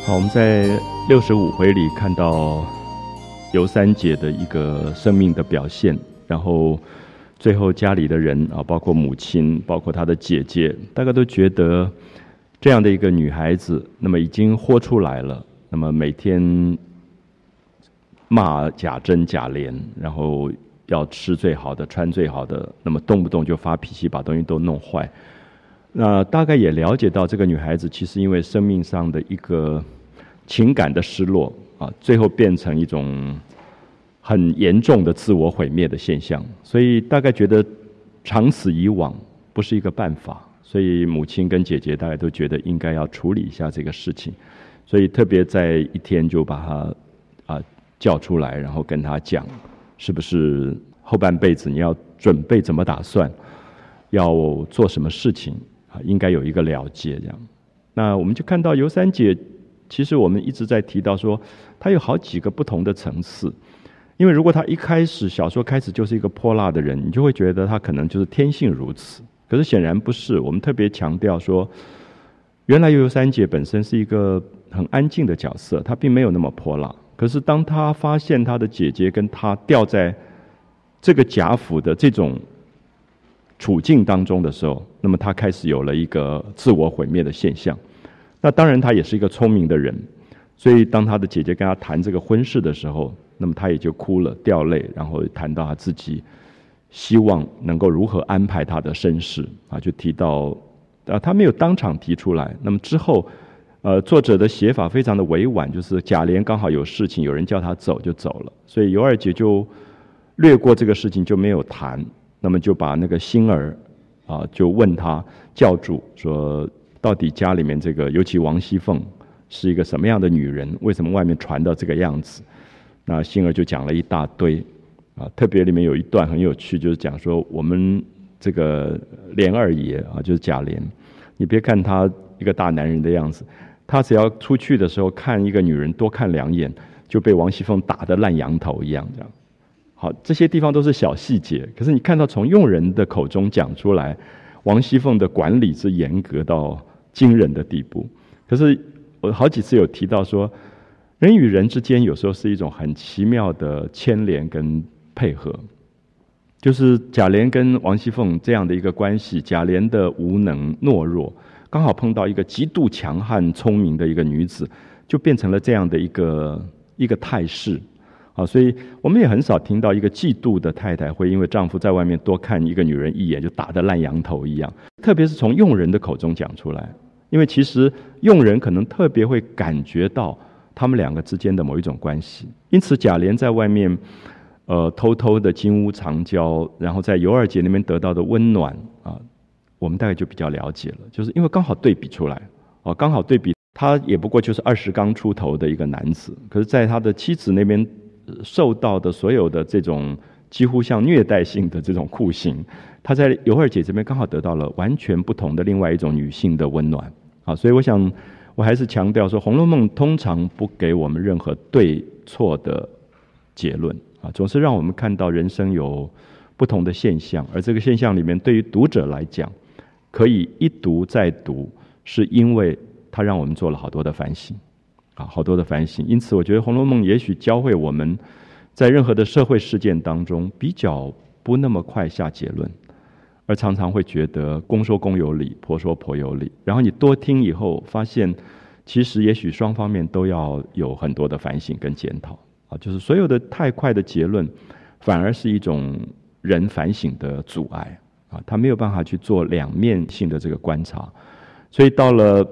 好，我们在65回里看到尤三姐的一个生命的表现，然后最后家里的人啊，包括母亲，包括她的姐姐，大概都觉得这样的一个女孩子，那么已经豁出来了，那么每天骂贾珍、贾琏，然后要吃最好的，穿最好的，那么动不动就发脾气，把东西都弄坏。那大概也了解到这个女孩子其实因为生命上的一个情感的失落啊，最后变成一种很严重的自我毁灭的现象，所以大概觉得长此以往不是一个办法，所以母亲跟姐姐大概都觉得应该要处理一下这个事情，所以特别在一天就把她叫出来，然后跟她讲，是不是后半辈子你要准备怎么打算，要做什么事情啊，应该有一个了结这样。那我们就看到尤三姐，其实我们一直在提到说，她有好几个不同的层次。因为如果她一开始小说开始就是一个泼辣的人，你就会觉得她可能就是天性如此。可是显然不是，我们特别强调说，原来尤三姐本身是一个很安静的角色，她并没有那么泼辣。可是当她发现她的姐姐跟她掉在这个贾府的这种处境当中的时候，那么她开始有了一个自我毁灭的现象。那当然她也是一个聪明的人，所以当她的姐姐跟她谈这个婚事的时候，那么她也就哭了，掉泪，然后谈到她自己希望能够如何安排她的身世啊，就提到她没有当场提出来。那么之后作者的写法非常的委婉，就是贾琏刚好有事情，有人叫他走就走了，所以尤二姐就略过这个事情就没有谈，那么就把那个星儿就问他叫住，说到底家里面这个尤其王熙凤是一个什么样的女人，为什么外面传到这个样子。那星儿就讲了一大堆特别里面有一段很有趣，就是讲说我们这个琏二爷就是贾琏，你别看他一个大男人的样子，他只要出去的时候看一个女人多看2眼，就被王熙凤打得烂羊头一样这样。好，这些地方都是小细节，可是你看到从佣人的口中讲出来，王熙凤的管理是严格到惊人的地步。可是我好几次有提到说，人与人之间有时候是一种很奇妙的牵连跟配合，就是贾琏跟王熙凤这样的一个关系，贾琏的无能懦弱，刚好碰到一个极度强悍聪明的一个女子，就变成了这样的一个态势。所以我们也很少听到一个嫉妒的太太会因为丈夫在外面多看一个女人一眼就打得烂羊头一样，特别是从佣人的口中讲出来，因为其实佣人可能特别会感觉到他们两个之间的某一种关系。因此贾琏在外面偷偷的金屋藏娇，然后在尤二姐那边得到的温暖我们大概就比较了解了，就是因为刚好对比出来刚好对比他也不过就是20刚出头的一个男子，可是在他的妻子那边受到的所有的这种几乎像虐待性的这种酷刑，他在尤二姐这边刚好得到了完全不同的另外一种女性的温暖所以我想我还是强调说，《红楼梦》通常不给我们任何对错的结论总是让我们看到人生有不同的现象，而这个现象里面对于读者来讲可以一读再读，是因为它让我们做了好多的反省好多的反省。因此我觉得《红楼梦》也许教会我们在任何的社会事件当中比较不那么快下结论，而常常会觉得公说公有理，婆说婆有理，然后你多听以后发现其实也许双方面都要有很多的反省跟检讨就是所有的太快的结论反而是一种人反省的阻碍他没有办法去做两面性的这个观察。所以到了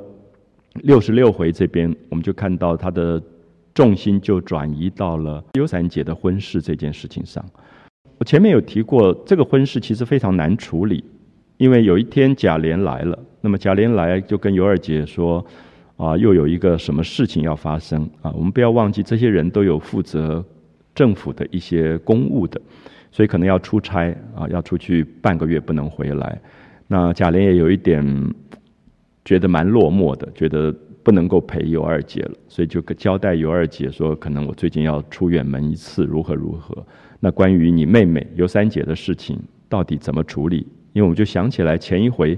66回这边，我们就看到他的重心就转移到了尤三姐的婚事这件事情上。我前面有提过，这个婚事其实非常难处理，因为有一天贾琏来了，那么贾琏来就跟尤二姐说又有一个什么事情要发生我们不要忘记这些人都有负责政府的一些公务的，所以可能要出差要出去半个月不能回来。那贾琏也有一点觉得蛮落寞的，觉得不能够陪尤二姐了，所以就交代尤二姐说，可能我最近要出远门一次，如何如何。那关于你妹妹尤三姐的事情到底怎么处理，因为我们就想起来前一回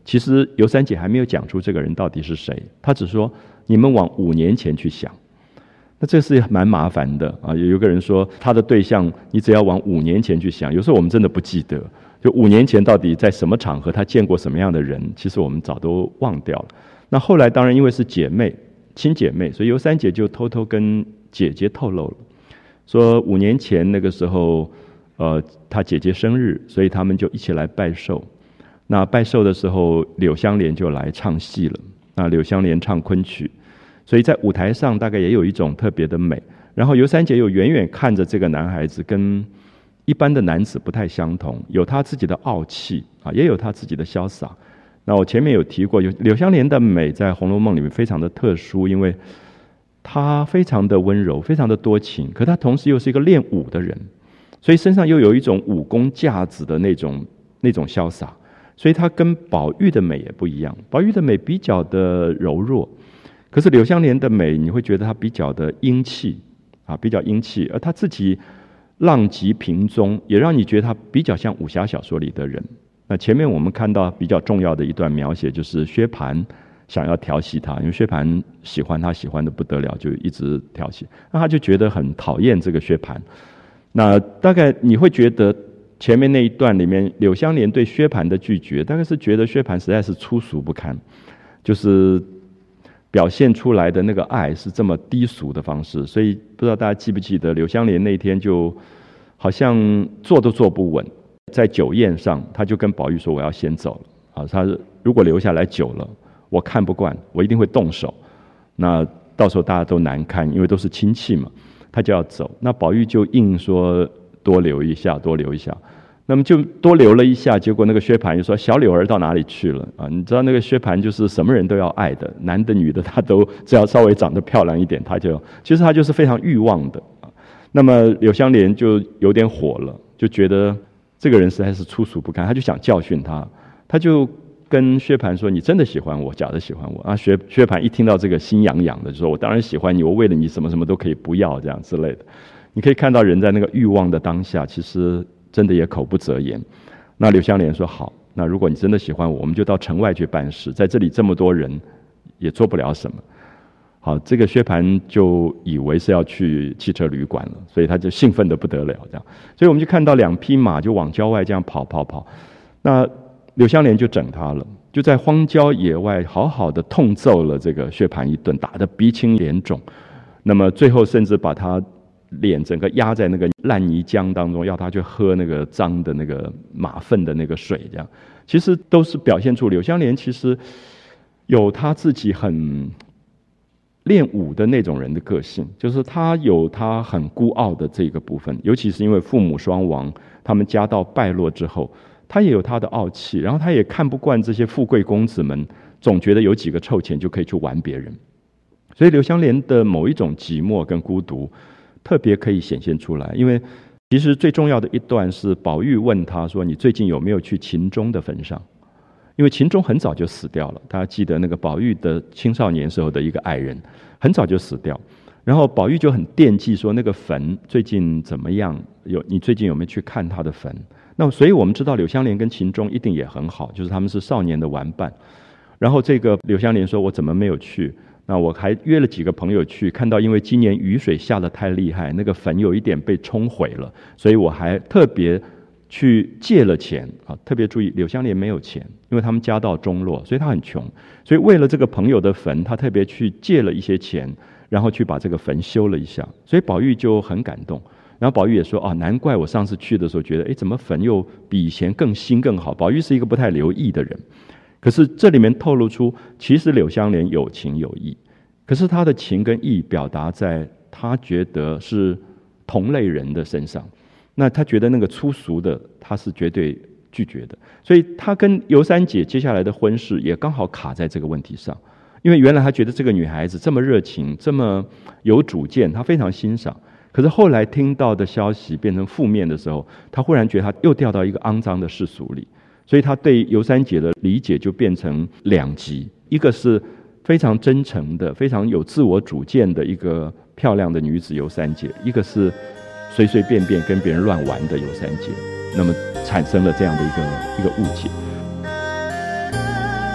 其实尤三姐还没有讲出这个人到底是谁，她只说你们往5年前去想。那这是蛮麻烦的啊！有个人说他的对象，你只要往5年前去想，有时候我们真的不记得，就5年前到底在什么场合他见过什么样的人，其实我们早都忘掉了。那后来当然因为是姐妹、亲姐妹，所以尤三姐就偷偷跟姐姐透露了，说5年前那个时候，她姐姐生日，所以他们就一起来拜寿。那拜寿的时候，柳湘莲就来唱戏了。那柳湘莲唱昆曲。所以在舞台上大概也有一种特别的美，然后尤三姐又远远看着这个男孩子跟一般的男子不太相同，有他自己的傲气啊，也有他自己的潇洒。那我前面有提过，柳湘莲的美在《红楼梦》里面非常的特殊，因为她非常的温柔，非常的多情，可她同时又是一个练武的人，所以身上又有一种武功架子的那种潇洒，所以她跟宝玉的美也不一样。宝玉的美比较的柔弱。可是柳湘莲的美，你会觉得她比较的英气啊，比较英气，而她自己浪迹萍踪，也让你觉得她比较像武侠小说里的人。那前面我们看到比较重要的一段描写，就是薛蟠想要调戏她，因为薛蟠喜欢她，喜欢的不得了，就一直调戏，那他就觉得很讨厌这个薛蟠。那大概你会觉得前面那一段里面，柳湘莲对薛蟠的拒绝，大概是觉得薛蟠实在是粗俗不堪，就是表现出来的那个爱是这么低俗的方式，所以不知道大家记不记得，柳湘莲那天就好像坐都坐不稳，在酒宴上，他就跟宝玉说：“我要先走了。”啊，他如果留下来久了，我看不惯，我一定会动手。那到时候大家都难堪，因为都是亲戚嘛，他就要走。那宝玉就硬说多留一下，多留一下。那么就多留了一下，结果那个薛蟠就说：“小柳儿到哪里去了？”啊，你知道那个薛蟠就是什么人都要爱的，男的女的他都只要稍微长得漂亮一点，其实他就是非常欲望的啊。那么柳湘莲就有点火了，就觉得这个人实在是粗俗不堪，他就想教训他，他就跟薛蟠说：“你真的喜欢我，假的喜欢我？”啊，薛蟠一听到这个心痒痒的，就说：“我当然喜欢你，我为了你什么什么都可以不要，这样之类的。”你可以看到人在那个欲望的当下，其实真的也口不择言。那柳湘莲说：“好，那如果你真的喜欢我，我们就到城外去办事，在这里这么多人也做不了什么。”好，这个薛蟠就以为是要去汽车旅馆了，所以他就兴奋得不得了，这样。所以我们就看到2匹马就往郊外这样跑。那柳湘莲就整他了，就在荒郊野外好好的痛揍了这个薛蟠一顿，打得鼻青脸肿。那么最后甚至把他脸整个压在那个烂泥浆当中，要他去喝那个脏的那个马粪的那个水，这样其实都是表现出柳湘莲其实有他自己很练武的那种人的个性，就是他有他很孤傲的这个部分，尤其是因为父母双亡，他们家道败落之后，他也有他的傲气，然后他也看不惯这些富贵公子们总觉得有几个臭钱就可以去玩别人，所以柳湘莲的某一种寂寞跟孤独特别可以显现出来。因为其实最重要的一段是宝玉问他说：“你最近有没有去秦钟的坟上？”因为秦钟很早就死掉了，大家记得那个宝玉的青少年时候的一个爱人很早就死掉，然后宝玉就很惦记说那个坟最近怎么样，你最近有没有去看他的坟？那所以我们知道柳湘莲跟秦钟一定也很好，就是他们是少年的玩伴。然后这个柳湘莲说：“我怎么没有去？那我还约了几个朋友去，看到因为今年雨水下得太厉害，那个坟有一点被冲毁了，所以我还特别去借了钱啊。特别注意，柳湘莲没有钱，因为他们家道中落，所以他很穷，所以为了这个朋友的坟，他特别去借了一些钱，然后去把这个坟修了一下。所以宝玉就很感动。然后宝玉也说：“难怪我上次去的时候觉得，怎么坟又比以前更新更好？”宝玉是一个不太留意的人。可是这里面透露出，其实柳湘莲有情有义，可是他的情跟义表达在他觉得是同类人的身上，那他觉得那个粗俗的他是绝对拒绝的，所以他跟尤三姐接下来的婚事也刚好卡在这个问题上。因为原来他觉得这个女孩子这么热情，这么有主见，他非常欣赏，可是后来听到的消息变成负面的时候，他忽然觉得他又掉到一个肮脏的世俗里，所以他对尤三姐的理解就变成两极，一个是非常真诚的、非常有自我主见的一个漂亮的女子尤三姐，一个是随随便便跟别人乱玩的尤三姐，那么产生了这样的一个误解。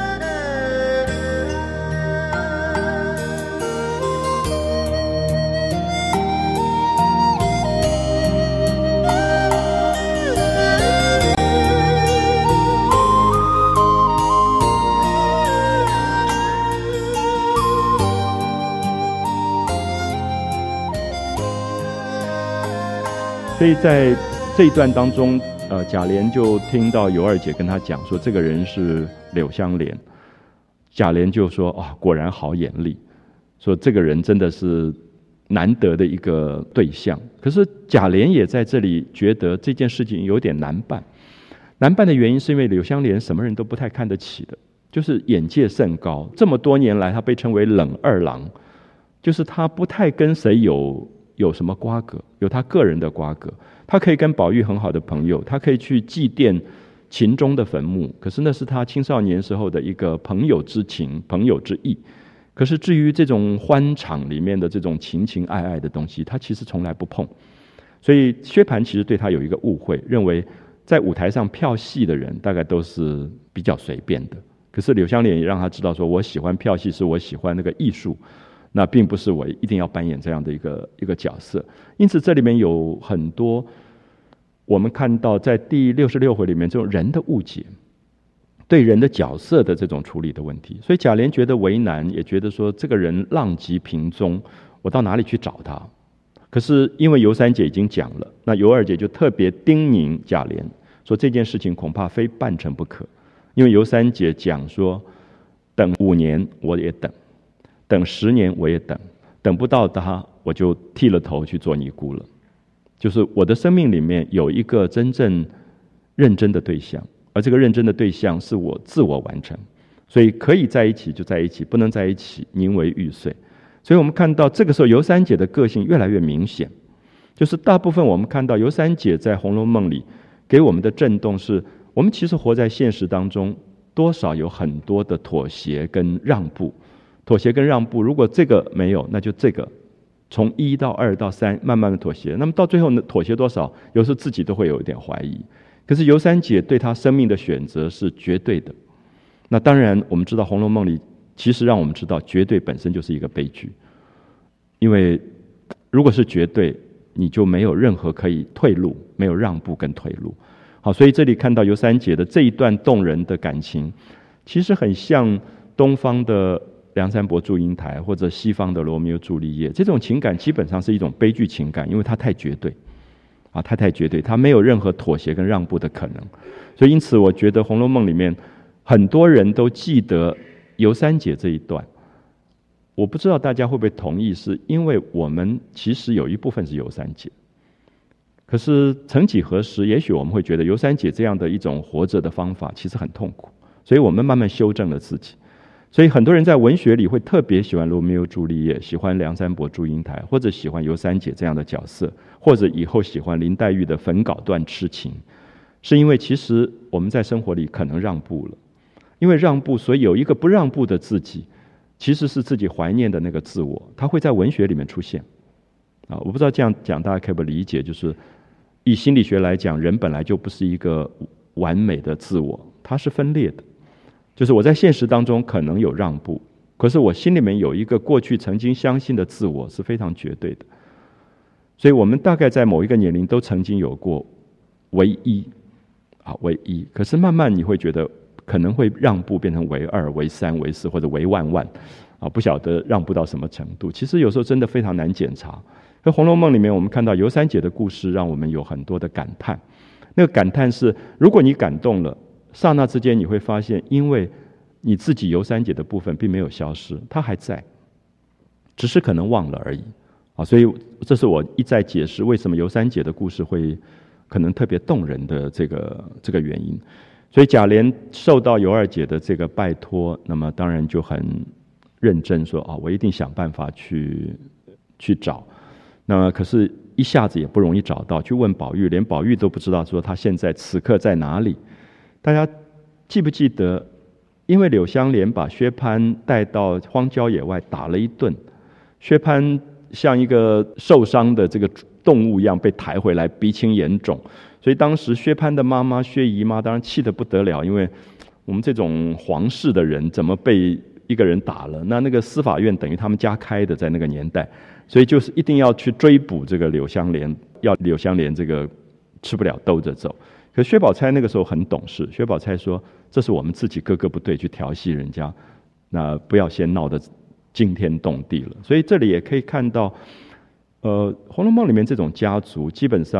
所以在这一段当中，贾琏就听到尤二姐跟他讲说，这个人是柳湘莲。贾琏就说：“啊，果然好眼力，说这个人真的是难得的一个对象。”可是贾琏也在这里觉得这件事情有点难办。难办的原因是因为柳湘莲什么人都不太看得起的，就是眼界甚高。这么多年来，他被称为冷二郎，就是他不太跟谁有什么瓜葛，有他个人的瓜葛。他可以跟宝玉很好的朋友，他可以去祭奠秦钟的坟墓，可是那是他青少年时候的一个朋友之情、朋友之意。可是至于这种欢场里面的这种情情爱爱的东西，他其实从来不碰。所以薛蟠其实对他有一个误会，认为在舞台上票戏的人大概都是比较随便的。可是柳湘莲也让他知道说，我喜欢票戏是我喜欢那个艺术，那并不是我一定要扮演这样的一个角色。因此这里面有很多我们看到在第66回里面这种人的误解，对人的角色的这种处理的问题。所以贾琏觉得为难，也觉得说这个人浪迹萍踪，我到哪里去找他？可是因为尤三姐已经讲了，那尤二姐就特别叮咛贾琏说，这件事情恐怕非办成不可。因为尤三姐讲说，等5年我也等，等10年我也等，等不到他我就剃了头去做尼姑了。就是我的生命里面有一个真正认真的对象，而这个认真的对象是我自我完成，所以可以在一起就在一起，不能在一起宁为玉碎。所以我们看到这个时候尤三姐的个性越来越明显，就是大部分我们看到尤三姐在《红楼梦》里给我们的震动是，我们其实活在现实当中，多少有很多的妥协跟让步。妥协跟让步，如果这个没有，那就这个从1到2到3慢慢的妥协，那么到最后呢，妥协多少，有时候自己都会有一点怀疑。可是尤三姐对她生命的选择是绝对的。那当然我们知道《红楼梦》里其实让我们知道，绝对本身就是一个悲剧，因为如果是绝对，你就没有任何可以退路，没有让步跟退路。好，所以这里看到尤三姐的这一段动人的感情，其实很像东方的梁山伯祝英台，或者西方的罗密欧朱丽叶。这种情感基本上是一种悲剧情感，因为它太绝对啊，它太绝对，它没有任何妥协跟让步的可能。所以因此我觉得《红楼梦》里面很多人都记得尤三姐这一段。我不知道大家会不会同意，是因为我们其实有一部分是尤三姐，可是曾几何时，也许我们会觉得尤三姐这样的一种活着的方法其实很痛苦，所以我们慢慢修正了自己。所以很多人在文学里会特别喜欢罗密欧朱丽叶，喜欢梁山伯祝英台，或者喜欢尤三姐这样的角色，或者以后喜欢林黛玉的粉稿断痴情，是因为其实我们在生活里可能让步了，因为让步，所以有一个不让步的自己，其实是自己怀念的那个自我，它会在文学里面出现。我不知道这样讲大家可不可以理解，就是以心理学来讲，人本来就不是一个完美的自我，它是分裂的。就是我在现实当中可能有让步，可是我心里面有一个过去曾经相信的自我是非常绝对的。所以我们大概在某一个年龄都曾经有过唯一，唯一。可是慢慢你会觉得可能会让步变成唯2、唯3、唯4或者唯万万，不晓得让步到什么程度。其实有时候真的非常难检查。在《红楼梦》里面，我们看到尤三姐的故事，让我们有很多的感叹。那个感叹是，如果你感动了，刹那之间你会发现，因为你自己尤三姐的部分并没有消失，它还在，只是可能忘了而已。所以这是我一再解释为什么尤三姐的故事会可能特别动人的这个原因。所以贾琏受到尤二姐的这个拜托，那么当然就很认真说，我一定想办法去找。那么可是一下子也不容易找到，去问宝玉，连宝玉都不知道说他现在此刻在哪里。大家记不记得，因为柳湘莲把薛蟠带到荒郊野外打了一顿，薛蟠像一个受伤的这个动物一样被抬回来，鼻青眼肿。所以当时薛蟠的妈妈薛姨妈当然气得不得了，因为我们这种皇室的人怎么被一个人打了？那个司法院等于他们家开的，在那个年代，所以就是一定要去追捕这个柳湘莲，要柳湘莲这个吃不了兜着走。可薛宝钗那个时候很懂事，薛宝钗说：“这是我们自己哥哥不对，去调戏人家，那不要先闹得惊天动地了。”所以这里也可以看到，《红楼梦》里面这种家族，基本上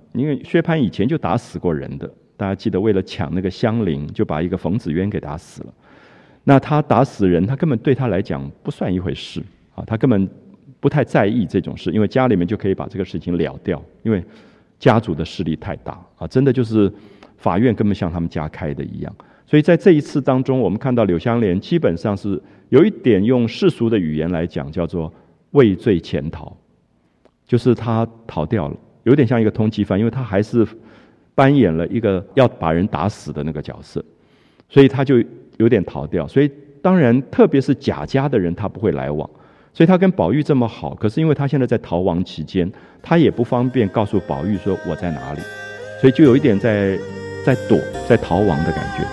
因为薛蟠以前就打死过人的，大家记得为了抢那个香菱，就把一个冯子渊给打死了。那他打死人，他根本对他来讲不算一回事啊，他根本不太在意这种事，因为家里面就可以把这个事情了掉，因为家族的势力太大啊，真的就是法院根本像他们家开的一样。所以在这一次当中，我们看到柳湘莲基本上是有一点用世俗的语言来讲，叫做畏罪潜逃，就是他逃掉了，有点像一个通缉犯，因为他还是扮演了一个要把人打死的那个角色，所以他就有点逃掉。所以当然特别是贾家的人他不会来往，所以他跟宝玉这么好，可是因为他现在在逃亡期间，他也不方便告诉宝玉说我在哪里，所以就有一点在躲，在逃亡的感觉。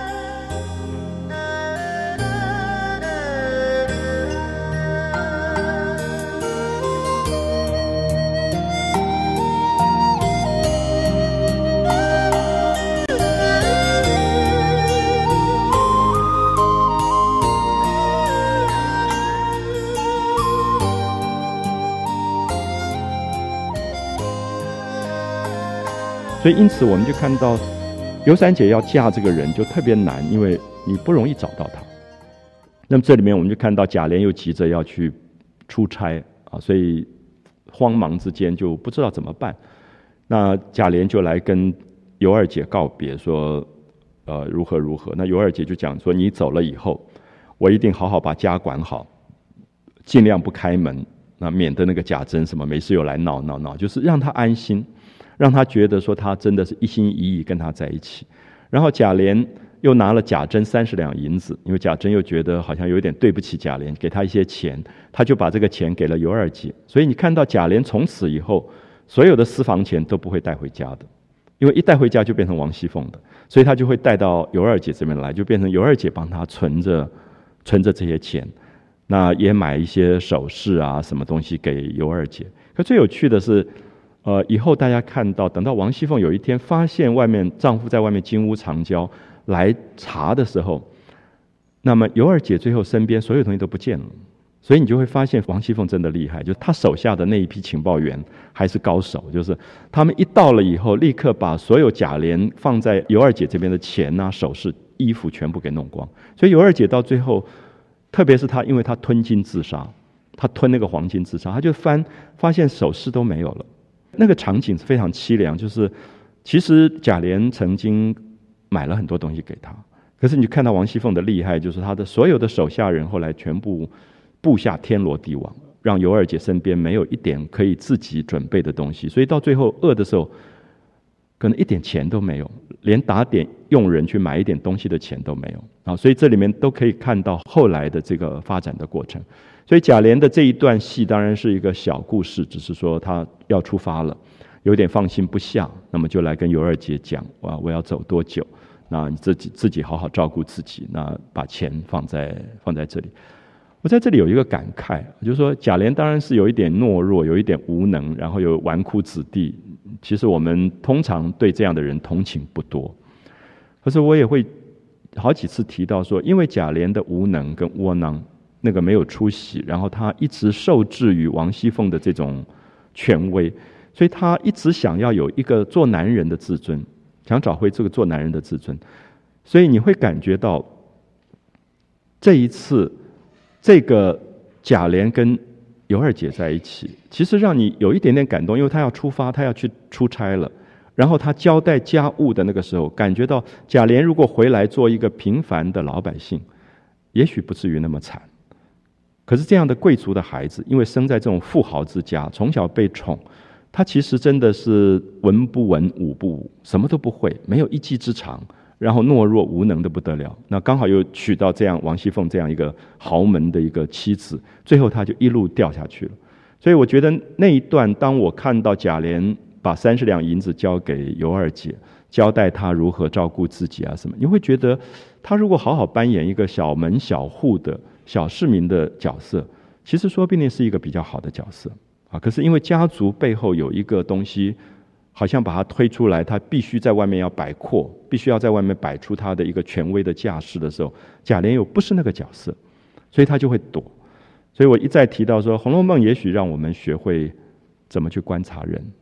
所以因此我们就看到尤三姐要嫁这个人就特别难，因为你不容易找到他。那么这里面我们就看到贾琏又急着要去出差啊，所以慌忙之间就不知道怎么办。那贾琏就来跟尤二姐告别，说如何如何。那尤二姐就讲说，你走了以后，我一定好好把家管好，尽量不开门，那免得那个贾珍什么没事又来闹，就是让他安心，让他觉得说他真的是一心一意跟他在一起。然后贾琏又拿了贾珍30两银子，因为贾珍又觉得好像有点对不起贾琏，给他一些钱，他就把这个钱给了尤二姐。所以你看到贾琏从此以后所有的私房钱都不会带回家的，因为一带回家就变成王熙凤的，所以他就会带到尤二姐这边来，就变成尤二姐帮他存着这些钱，那也买一些首饰啊什么东西给尤二姐。可最有趣的是以后大家看到，等到王熙凤有一天发现外面丈夫在外面金屋藏娇来查的时候，那么尤二姐最后身边所有东西都不见了。所以你就会发现王熙凤真的厉害，就是她手下的那一批情报员还是高手，就是他们一到了以后，立刻把所有贾琏放在尤二姐这边的钱啊、首饰、衣服全部给弄光。所以尤二姐到最后，特别是她，因为她吞金自杀，她吞那个黄金自杀，她就发现首饰都没有了。那个场景是非常凄凉，就是其实贾琏曾经买了很多东西给他，可是你看到王熙凤的厉害，就是她的所有的手下人后来全部布下天罗地网，让尤二姐身边没有一点可以自己准备的东西，所以到最后饿的时候可能一点钱都没有，连打点佣人去买一点东西的钱都没有啊！所以这里面都可以看到后来的这个发展的过程。所以贾琏的这一段戏当然是一个小故事，只是说他要出发了，有点放心不下，那么就来跟尤二姐讲，我要走多久，那你自己好好照顾自己，那把钱放在这里。我在这里有一个感慨，就是说贾琏当然是有一点懦弱，有一点无能，然后有纨绔子弟，其实我们通常对这样的人同情不多。可是我也会好几次提到说，因为贾琏的无能跟窝囊，那个没有出息，然后他一直受制于王熙凤的这种权威，所以他一直想要有一个做男人的自尊，想找回这个做男人的自尊。所以你会感觉到这一次这个贾琏跟尤二姐在一起，其实让你有一点点感动，因为他要出发，他要去出差了，然后他交代家务的那个时候，感觉到贾琏如果回来做一个平凡的老百姓，也许不至于那么惨。可是这样的贵族的孩子，因为生在这种富豪之家，从小被宠，他其实真的是文不文武不武，什么都不会，没有一技之长，然后懦弱无能的不得了。那刚好又娶到这样王熙凤这样一个豪门的一个妻子，最后他就一路掉下去了。所以我觉得那一段，当我看到贾琏把30两银子交给尤二姐，交代他如何照顾自己啊什么，你会觉得他如果好好扮演一个小门小户的小市民的角色，其实说不定是一个比较好的角色啊。可是因为家族背后有一个东西，好像把他推出来，他必须在外面要摆阔，必须要在外面摆出他的一个权威的架势的时候，贾琏又不是那个角色，所以他就会躲。所以我一再提到说，《红楼梦》也许让我们学会怎么去观察人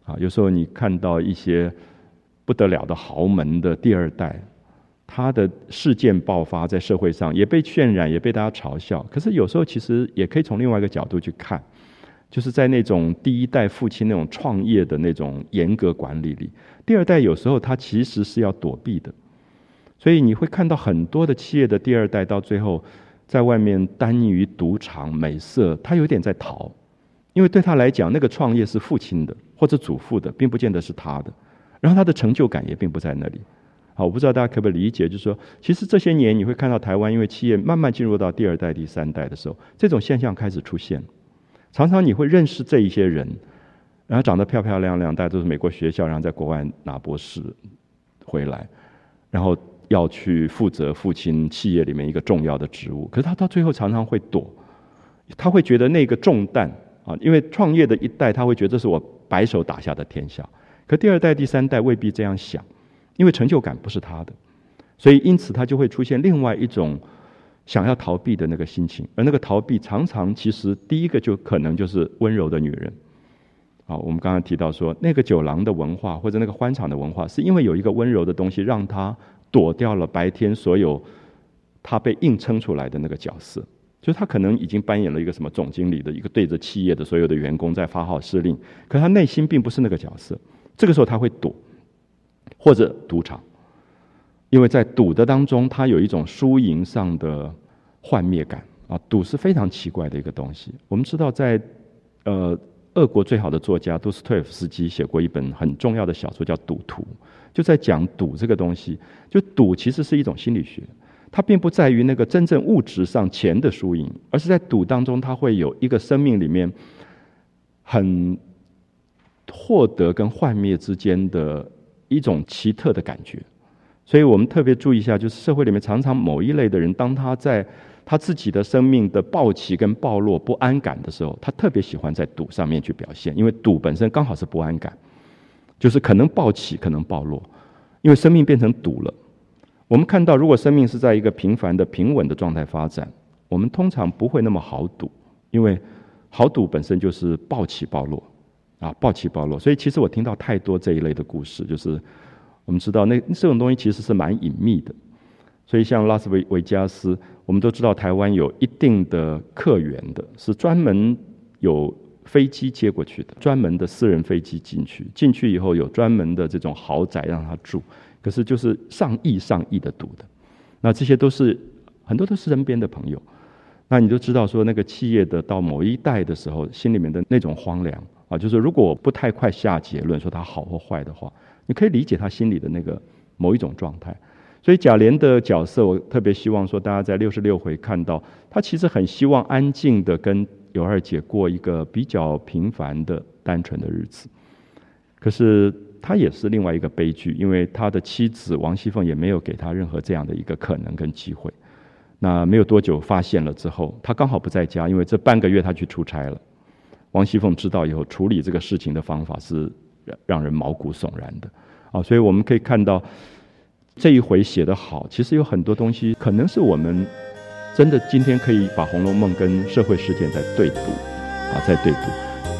有时候你看到一些不得了的豪门的第二代，他的事件爆发在社会上，也被渲染，也被大家嘲笑。可是有时候其实也可以从另外一个角度去看，就是在那种第一代父亲那种创业的那种严格管理里，第二代有时候他其实是要躲避的。所以你会看到很多的企业的第二代到最后在外面耽溺于赌场、美色，他有点在逃，因为对他来讲，那个创业是父亲的或者祖父的，并不见得是他的，然后他的成就感也并不在那里。好，我不知道大家可不可以理解，就是说，其实这些年你会看到台湾，因为企业慢慢进入到第二代、第三代的时候，这种现象开始出现。常常你会认识这一些人，然后长得漂漂亮亮，大家都是美国学校，然后在国外拿博士回来，然后要去负责父亲企业里面一个重要的职务，可是他到最后常常会躲，他会觉得那个重担因为创业的一代他会觉得这是我白手打下的天下，可第二代、第三代未必这样想，因为成就感不是他的，所以因此他就会出现另外一种想要逃避的那个心情，而那个逃避常常其实第一个就可能就是温柔的女人。我们刚刚提到说那个酒廊的文化或者那个欢场的文化，是因为有一个温柔的东西让他躲掉了白天所有他被硬撑出来的那个角色，就是他可能已经扮演了一个什么总经理的一个对着企业的所有的员工在发号施令，可他内心并不是那个角色，这个时候他会躲，或者赌场，因为在赌的当中他有一种输赢上的幻灭感赌是非常奇怪的一个东西。我们知道在俄国最好的作家杜斯托耶夫斯基写过一本很重要的小说叫《赌徒》，就在讲赌这个东西。就赌其实是一种心理学，它并不在于那个真正物质上钱的输赢，而是在赌当中它会有一个生命里面很获得跟幻灭之间的一种奇特的感觉。所以我们特别注意一下，就是社会里面常常某一类的人，当他在他自己的生命的暴起跟暴落不安感的时候，他特别喜欢在赌上面去表现，因为赌本身刚好是不安感，就是可能暴起可能暴落，因为生命变成赌了。我们看到如果生命是在一个平凡的平稳的状态发展，我们通常不会那么好赌，因为好赌本身就是暴起暴落暴起暴落。所以其实我听到太多这一类的故事，就是我们知道这种东西其实是蛮隐秘的。所以像拉斯维加斯，我们都知道台湾有一定的客源的，是专门有飞机接过去的，专门的私人飞机进去以后有专门的这种豪宅让他住，可是就是上亿的赌的。那这些都是很多都是身边的朋友，那你就知道说那个企业的到某一代的时候心里面的那种荒凉就是如果我不太快下结论说他好或坏的话，你可以理解他心里的那个某一种状态。所以贾琏的角色，我特别希望说大家在66回看到他其实很希望安静的跟尤二姐过一个比较平凡的单纯的日子，可是他也是另外一个悲剧，因为他的妻子王熙凤也没有给他任何这样的一个可能跟机会。那没有多久发现了之后，他刚好不在家，因为这半个月他去出差了。王熙凤知道以后处理这个事情的方法是让人毛骨悚然的所以我们可以看到这一回写得好，其实有很多东西可能是我们真的今天可以把《红楼梦》跟社会事件在对赌在对赌。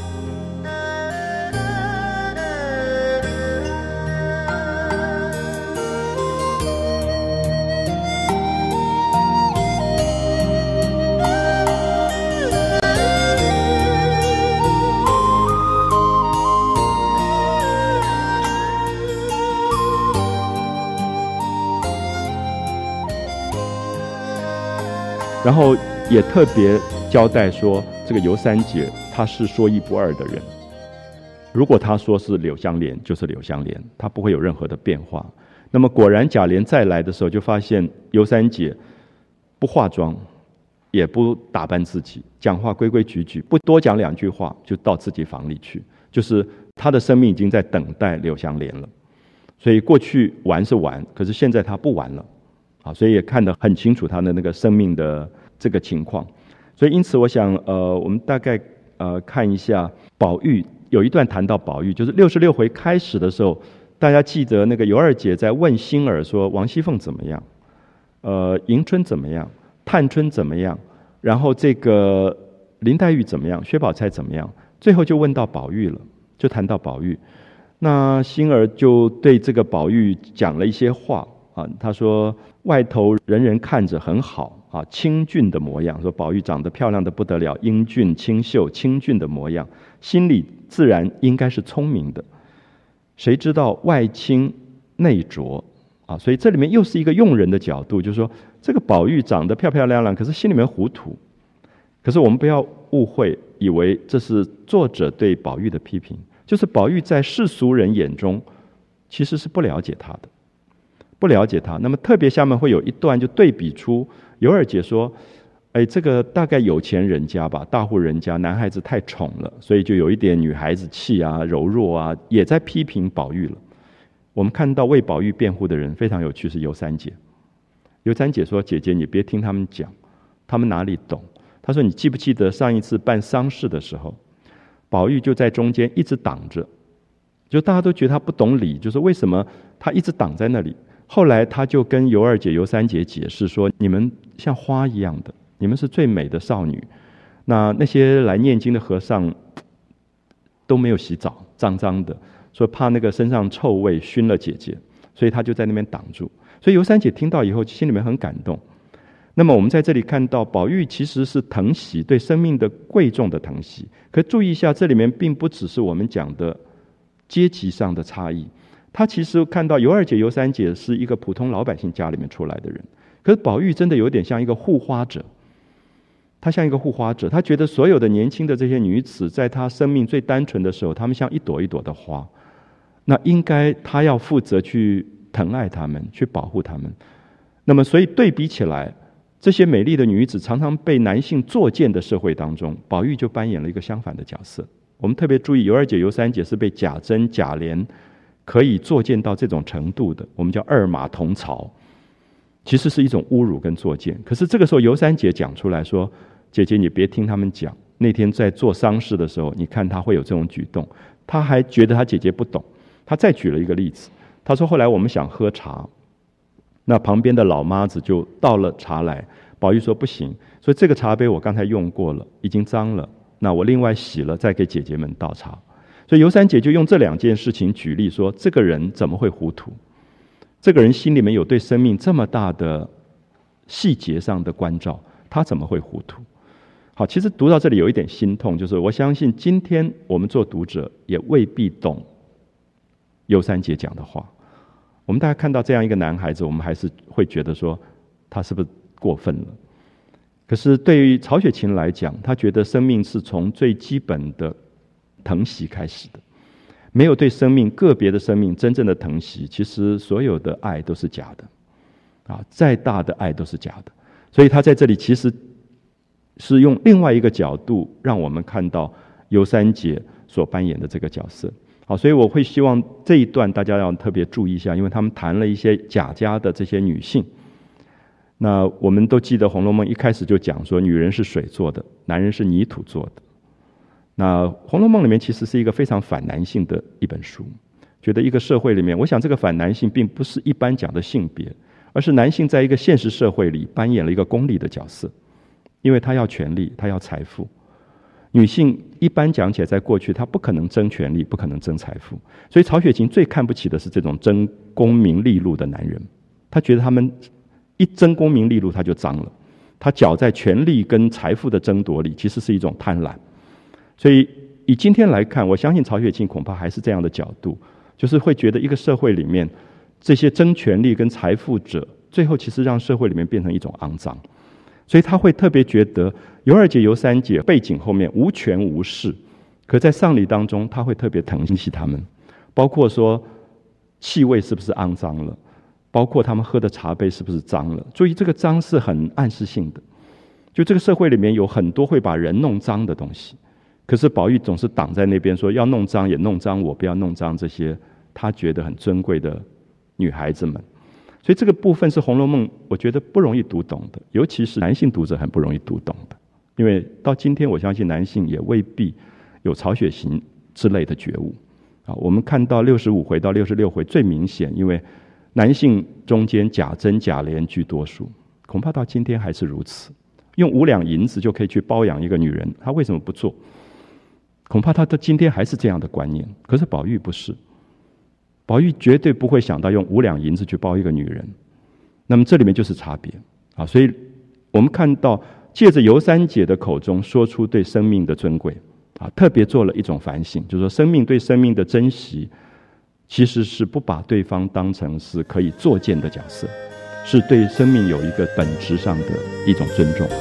然后也特别交代说，这个尤三姐她是说一不二的人。如果她说是柳湘莲，就是柳湘莲，她不会有任何的变化。那么果然贾琏再来的时候，就发现尤三姐不化妆，也不打扮自己，讲话规规矩矩，不多讲两句话就到自己房里去，就是她的生命已经在等待柳湘莲了。所以过去玩是玩，可是现在她不玩了。所以也看得很清楚他的那个生命的这个情况。所以因此我想我们大概看一下宝玉，有一段谈到宝玉，就是66回开始的时候，大家记得那个尤二姐在问星儿说王熙凤怎么样，迎春怎么样，探春怎么样，然后这个林黛玉怎么样，薛宝钗怎么样，最后就问到宝玉了。 就谈到宝玉。那星儿就对这个宝玉讲了一些话啊，他说外头人人看着很好啊，清俊的模样，说宝玉长得漂亮的不得了，英俊清秀清俊的模样，心里自然应该是聪明的，谁知道外清内浊啊，所以这里面又是一个用人的角度，就是说这个宝玉长得漂漂亮亮，可是心里面糊涂。可是我们不要误会，以为这是作者对宝玉的批评，就是宝玉在世俗人眼中其实是不了解他的，不了解他。那么特别下面会有一段就对比出尤二姐说，这个大概有钱人家吧，大户人家，男孩子太宠了，所以就有一点女孩子气啊，柔弱啊，也在批评宝玉了。我们看到为宝玉辩护的人非常有趣，是尤三姐。尤三姐说，姐姐你别听他们讲，他们哪里懂。她说你记不记得上一次办丧事的时候，宝玉就在中间一直挡着，就大家都觉得他不懂理，就是为什么他一直挡在那里。后来他就跟尤二姐、尤三姐解释说，你们像花一样的，你们是最美的少女，那些来念经的和尚都没有洗澡，脏脏的，说怕那个身上臭味熏了姐姐，所以他就在那边挡住。所以尤三姐听到以后心里面很感动。那么我们在这里看到宝玉其实是疼惜，对生命的贵重的疼惜。可注意一下，这里面并不只是我们讲的阶级上的差异，他其实看到尤二姐、尤三姐是一个普通老百姓家里面出来的人，可是宝玉真的有点像一个护花者，他像一个护花者，他觉得所有的年轻的这些女子，在他生命最单纯的时候，她们像一朵一朵的花，那应该他要负责去疼爱她们，去保护她们。那么所以对比起来，这些美丽的女子常常被男性作践的社会当中，宝玉就扮演了一个相反的角色。我们特别注意，尤二姐、尤三姐是被贾珍、贾琏可以作践到这种程度的，我们叫二马同槽，其实是一种侮辱跟作践。可是这个时候尤三姐讲出来说，姐姐你别听他们讲，那天在做丧事的时候，你看他会有这种举动，他还觉得他姐姐不懂。他再举了一个例子，他说后来我们想喝茶，那旁边的老妈子就倒了茶来，宝玉说不行，所以这个茶杯我刚才用过了，已经脏了，那我另外洗了再给姐姐们倒茶。所以尤三姐就用这两件事情举例说，这个人怎么会糊涂，这个人心里面有对生命这么大的细节上的关照，他怎么会糊涂。好，其实读到这里有一点心痛，就是我相信今天我们做读者也未必懂尤三姐讲的话。我们大家看到这样一个男孩子，我们还是会觉得说他是不是过分了。可是对于曹雪芹来讲，他觉得生命是从最基本的疼惜开始的，没有对生命个别的生命真正的疼惜，其实所有的爱都是假的啊，再大的爱都是假的。所以他在这里其实是用另外一个角度让我们看到尤三姐所扮演的这个角色。好，所以我会希望这一段大家要特别注意一下，因为他们谈了一些贾家的这些女性。那我们都记得《红楼梦》一开始就讲说，女人是水做的，男人是泥土做的。那《红楼梦》里面其实是一个非常反男性的一本书，觉得一个社会里面，我想这个反男性并不是一般讲的性别，而是男性在一个现实社会里扮演了一个功利的角色，因为他要权力，他要财富。女性一般讲起来，在过去她不可能争权力，不可能争财富，所以曹雪芹最看不起的是这种争功名利禄的男人。他觉得他们一争功名利禄他就脏了，他搅在权力跟财富的争夺里，其实是一种贪婪。所以以今天来看，我相信曹雪芹恐怕还是这样的角度，就是会觉得一个社会里面这些争权力跟财富者，最后其实让社会里面变成一种肮脏。所以他会特别觉得尤二姐、尤三姐背景后面无权无势，可在丧礼当中他会特别疼惜他们，包括说气味是不是肮脏了，包括他们喝的茶杯是不是脏了。注意这个脏是很暗示性的，就这个社会里面有很多会把人弄脏的东西，可是宝玉总是挡在那边说，要弄脏也弄脏我，不要弄脏这些他觉得很尊贵的女孩子们。所以这个部分是《红楼梦》我觉得不容易读懂的，尤其是男性读者很不容易读懂的，因为到今天我相信男性也未必有曹雪芹之类的觉悟。我们看到65回到66回最明显，因为男性中间贾珍、贾琏居多数，恐怕到今天还是如此。用5两银子就可以去包养一个女人，他为什么不做？ 恐怕他到今天还是这样的观念。可是宝玉不是，宝玉绝对不会想到用5两银子去包一个女人。那么这里面就是差别啊！所以我们看到借着尤三姐的口中说出对生命的尊贵啊，特别做了一种反省，就是说生命对生命的珍惜，其实是不把对方当成是可以作践的角色，是对生命有一个本质上的一种尊重。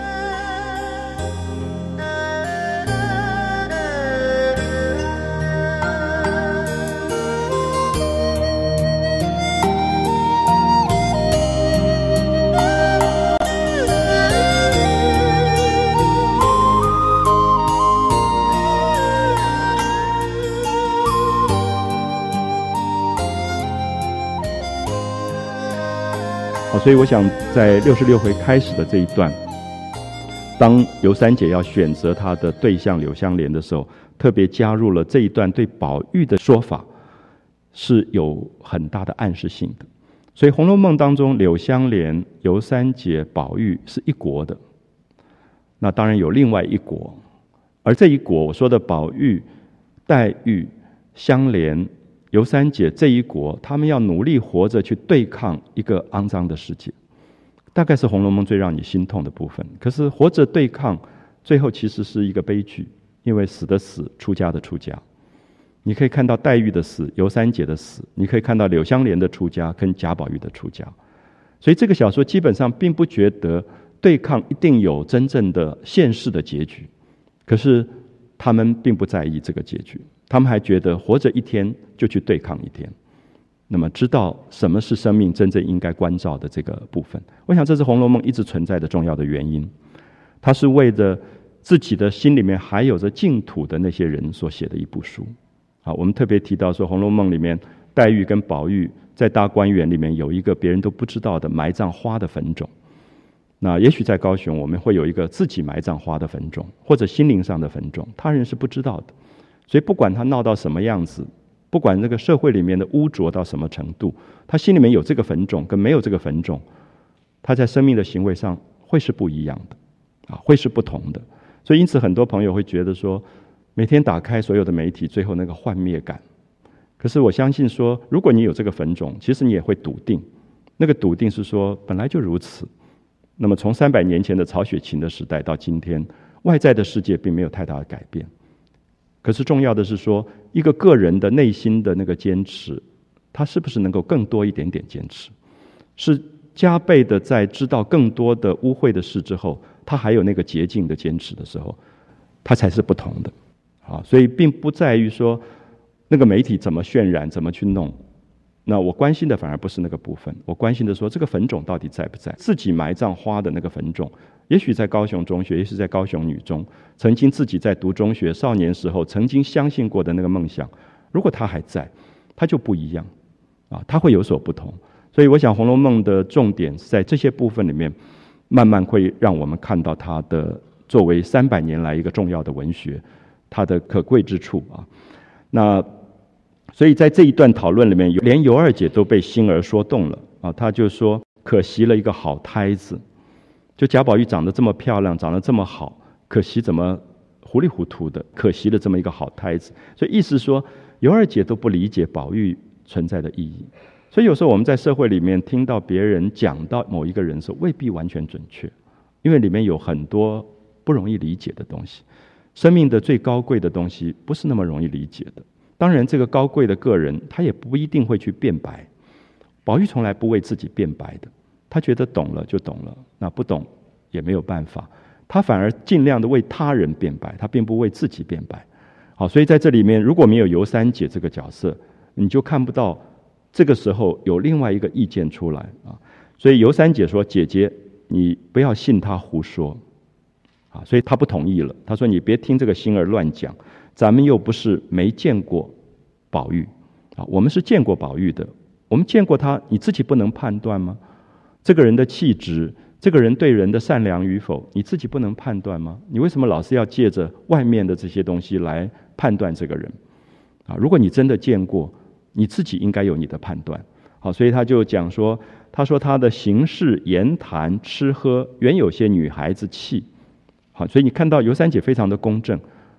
所以我想在66回开始的这一段，当尤三姐要选择她的对象柳湘莲的时候，特别加入了这一段对宝玉的说法，是有很大的暗示性的。所以《红楼梦》当中，柳湘莲、尤三姐、宝玉是一国的，那当然有另外一国，而这一国我说的宝玉、黛玉、湘莲、尤三姐这一国，他们要努力活着去对抗一个肮脏的世界，大概是《红楼梦》最让你心痛的部分。可是活着对抗，最后其实是一个悲剧，因为死的死，出家的出家。你可以看到黛玉的死，尤三姐的死，你可以看到柳湘莲的出家跟贾宝玉的出家。所以这个小说基本上并不觉得对抗一定有真正的现世的结局，可是他们并不在意这个结局，他们还觉得活着一天就去对抗一天，那么知道什么是生命真正应该关照的这个部分。我想这是《红楼梦》一直存在的重要的原因，它是为着自己的心里面还有着净土的那些人所写的一部书。好，我们特别提到说，《红楼梦》里面黛玉跟宝玉在大观园里面有一个别人都不知道的埋葬花的坟冢。那也许在高雄我们会有一个自己埋葬花的坟冢，或者心灵上的坟冢，他人是不知道的。所以不管他闹到什么样子，不管这个社会里面的污浊到什么程度，他心里面有这个坟冢跟没有这个坟冢，他在生命的行为上会是不一样的啊，会是不同的。所以因此很多朋友会觉得说，每天打开所有的媒体，最后那个幻灭感。可是我相信说，如果你有这个坟冢，其实你也会笃定，那个笃定是说本来就如此。那么从300年前的曹雪芹的时代到今天，外在的世界并没有太大的改变。可是重要的是说，一个个人的内心的那个坚持，他是不是能够更多一点点坚持，是加倍的在知道更多的污秽的事之后，他还有那个洁净的坚持的时候，他才是不同的。好，所以并不在于说那个媒体怎么渲染怎么去弄，那我关心的反而不是那个部分，我关心的说这个坟冢到底在不在，自己埋葬花的那个坟冢，也许在高雄中学，也许在高雄女中，曾经自己在读中学少年时候曾经相信过的那个梦想，如果它还在，它就不一样啊，它会有所不同。所以我想《红楼梦》的重点是在这些部分里面，慢慢会让我们看到它的作为300年来一个重要的文学，它的可贵之处啊。那所以在这一段讨论里面，连尤二姐都被心儿说动了啊，她就说可惜了一个好胎子，就贾宝玉长得这么漂亮，长得这么好，可惜怎么糊里糊涂的，可惜了这么一个好胎子。所以意思说，尤二姐都不理解宝玉存在的意义。所以有时候我们在社会里面听到别人讲到某一个人的时候，未必完全准确，因为里面有很多不容易理解的东西。生命的最高贵的东西不是那么容易理解的。当然这个高贵的个人他也不一定会去辩白，宝玉从来不为自己辩白的，他觉得懂了就懂了，那不懂也没有办法，他反而尽量的为他人辩白，他并不为自己辩白。好，所以在这里面如果没有尤三姐这个角色，你就看不到这个时候有另外一个意见出来啊。所以尤三姐说，姐姐你不要信他胡说啊，所以他不同意了，他说你别听这个心儿乱讲，咱们又不是没见过宝玉啊，我们是见过宝玉的，我们见过他，你自己不能判断吗？这个人的气质，这个人对人的善良与否，你自己不能判断吗？你为什么老是要借着外面的这些东西来判断这个人啊？如果你真的见过，你自己应该有你的判断。好，所以他就讲说，他说他的行事言谈吃喝原有些女孩子气。好，所以你看到尤三姐非常的公正，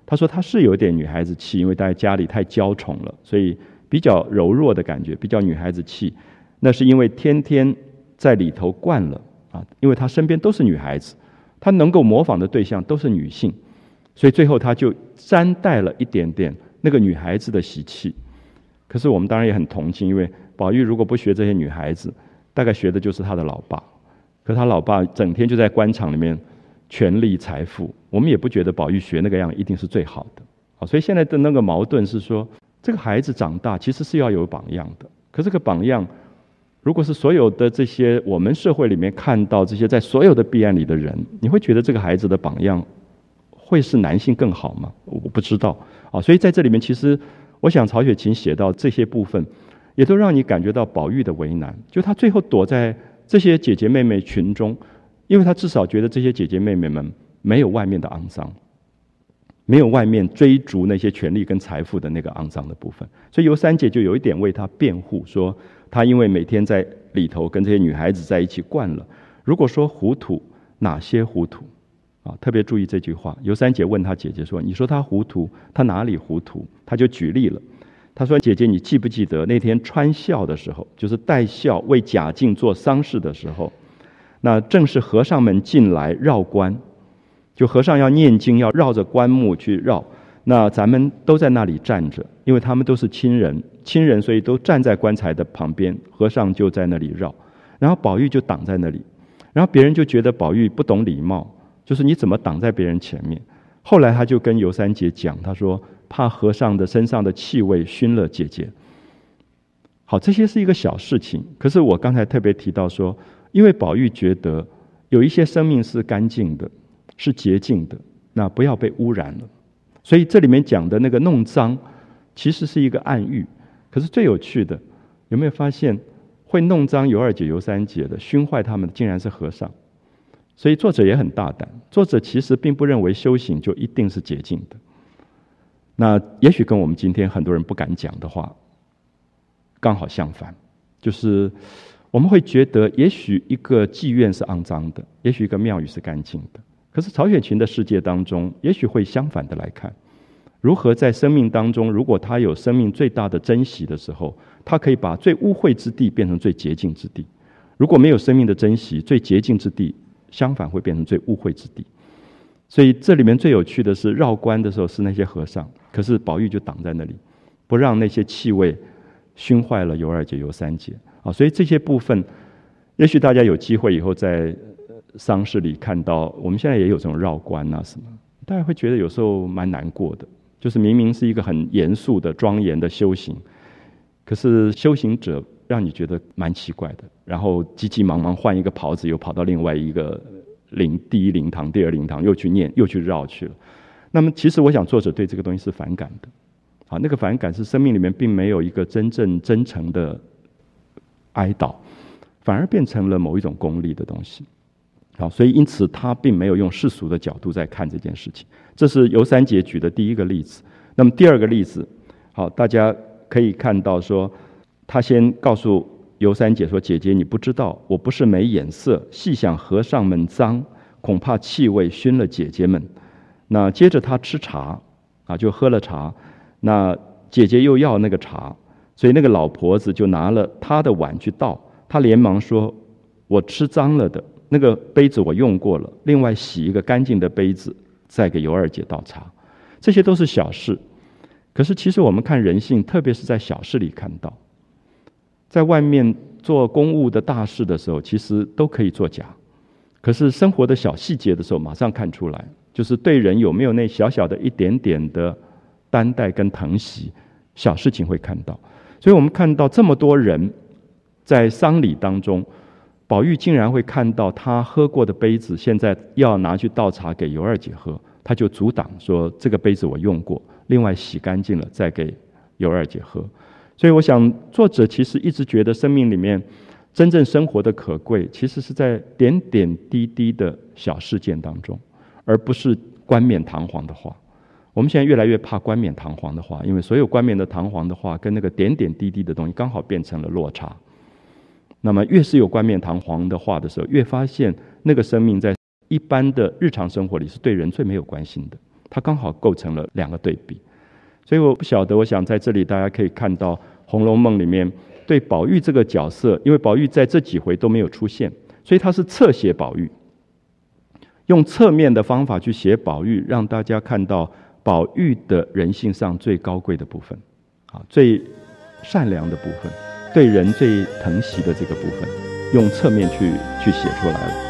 他说他是有点女孩子气，因为在家里太娇宠了，所以比较柔弱的感觉，比较女孩子气。那是因为天天在里头惯了啊，因为他身边都是女孩子，他能够模仿的对象都是女性，所以最后他就沾带了一点点那个女孩子的习气。可是我们当然也很同情，因为宝玉如果不学这些女孩子，大概学的就是他的老爸。可他老爸整天就在官场里面权力财富，我们也不觉得宝玉学那个样一定是最好的。所以现在的那个矛盾是说，这个孩子长大其实是要有榜样的，可这个榜样如果是所有的这些我们社会里面看到这些在所有的弊案里的人，你会觉得这个孩子的榜样会是男性更好吗？我不知道所以在这里面其实我想曹雪芹写到这些部分也都让你感觉到宝玉的为难，就他最后躲在这些姐姐妹妹群中，因为他至少觉得这些姐姐妹妹们没有外面的肮脏，没有外面追逐那些权力跟财富的那个肮脏的部分，所以尤三姐就有一点为他辩护，说他因为每天在里头跟这些女孩子在一起惯了，如果说糊涂，哪些糊涂特别注意这句话。尤三姐问他姐姐说，你说他糊涂，他哪里糊涂？他就举例了，他说姐姐你记不记得那天穿孝的时候，就是戴孝为贾敬做丧事的时候，那正是和尚们进来绕关，就和尚要念经要绕着棺木去绕，那咱们都在那里站着，因为他们都是亲人，所以都站在棺材的旁边，和尚就在那里绕，然后宝玉就挡在那里，然后别人就觉得宝玉不懂礼貌，就是你怎么挡在别人前面。后来他就跟尤三姐讲，他说怕和尚的身上的气味熏了姐姐。好，这些是一个小事情，可是我刚才特别提到说，因为宝玉觉得有一些生命是干净的，是洁净的，那不要被污染了，所以这里面讲的那个弄脏其实是一个暗喻。可是最有趣的，有没有发现会弄脏尤二姐尤三姐的，熏坏他们的竟然是和尚。所以作者也很大胆，作者其实并不认为修行就一定是洁净的。那也许跟我们今天很多人不敢讲的话刚好相反，就是我们会觉得也许一个妓院是肮脏的，也许一个庙宇是干净的，可是曹雪芹的世界当中也许会相反的来看，如何在生命当中，如果他有生命最大的珍惜的时候，他可以把最污秽之地变成最洁净之地。如果没有生命的珍惜，最洁净之地相反会变成最污秽之地。所以这里面最有趣的是绕关的时候是那些和尚，可是宝玉就挡在那里，不让那些气味熏坏了尤二姐尤三姐所以这些部分也许大家有机会以后在丧事里看到，我们现在也有这种绕关什么，大家会觉得有时候蛮难过的，就是明明是一个很严肃的庄严的修行，可是修行者让你觉得蛮奇怪的，然后急急忙忙换一个袍子，又跑到另外一个第一灵堂第二灵堂又去念又去绕去了。那么其实我想作者对这个东西是反感的那个反感是生命里面并没有一个真正真诚的哀悼，反而变成了某一种功利的东西所以因此他并没有用世俗的角度在看这件事情。这是尤三姐举的第一个例子。那么第二个例子，好，大家可以看到说，他先告诉尤三姐说，姐姐你不知道，我不是没眼色，细想和尚们脏，恐怕气味熏了姐姐们。那接着他吃茶就喝了茶，那姐姐又要那个茶，所以那个老婆子就拿了她的碗去倒，她连忙说，我吃脏了的那个杯子我用过了，另外洗一个干净的杯子再给尤二姐倒茶。这些都是小事，可是其实我们看人性，特别是在小事里看到，在外面做公务的大事的时候其实都可以作假，可是生活的小细节的时候马上看出来，就是对人有没有那小小的一点点的担待跟疼惜，小事情会看到。所以我们看到这么多人在丧礼当中，宝玉竟然会看到他喝过的杯子现在要拿去倒茶给尤二姐喝，他就阻挡说，这个杯子我用过，另外洗干净了再给尤二姐喝。所以我想作者其实一直觉得生命里面真正生活的可贵，其实是在点点滴滴的小事件当中，而不是冠冕堂皇的话。我们现在越来越怕冠冕堂皇的话，因为所有冠冕的堂皇的话跟那个点点滴滴的东西刚好变成了落差。那么越是有冠冕堂皇的话的时候，越发现那个生命在一般的日常生活里是对人最没有关心的， 它刚好构成了两个对比。所以我不晓得，我想在这里大家可以看到《红楼梦》里面对宝玉这个角色，因为宝玉在这几回都没有出现，所以他是侧写宝玉，用侧面的方法去写宝玉，让大家看到宝玉的人性上最高贵的部分，最善良的部分，对人最疼惜的这个部分，用侧面去写出来了。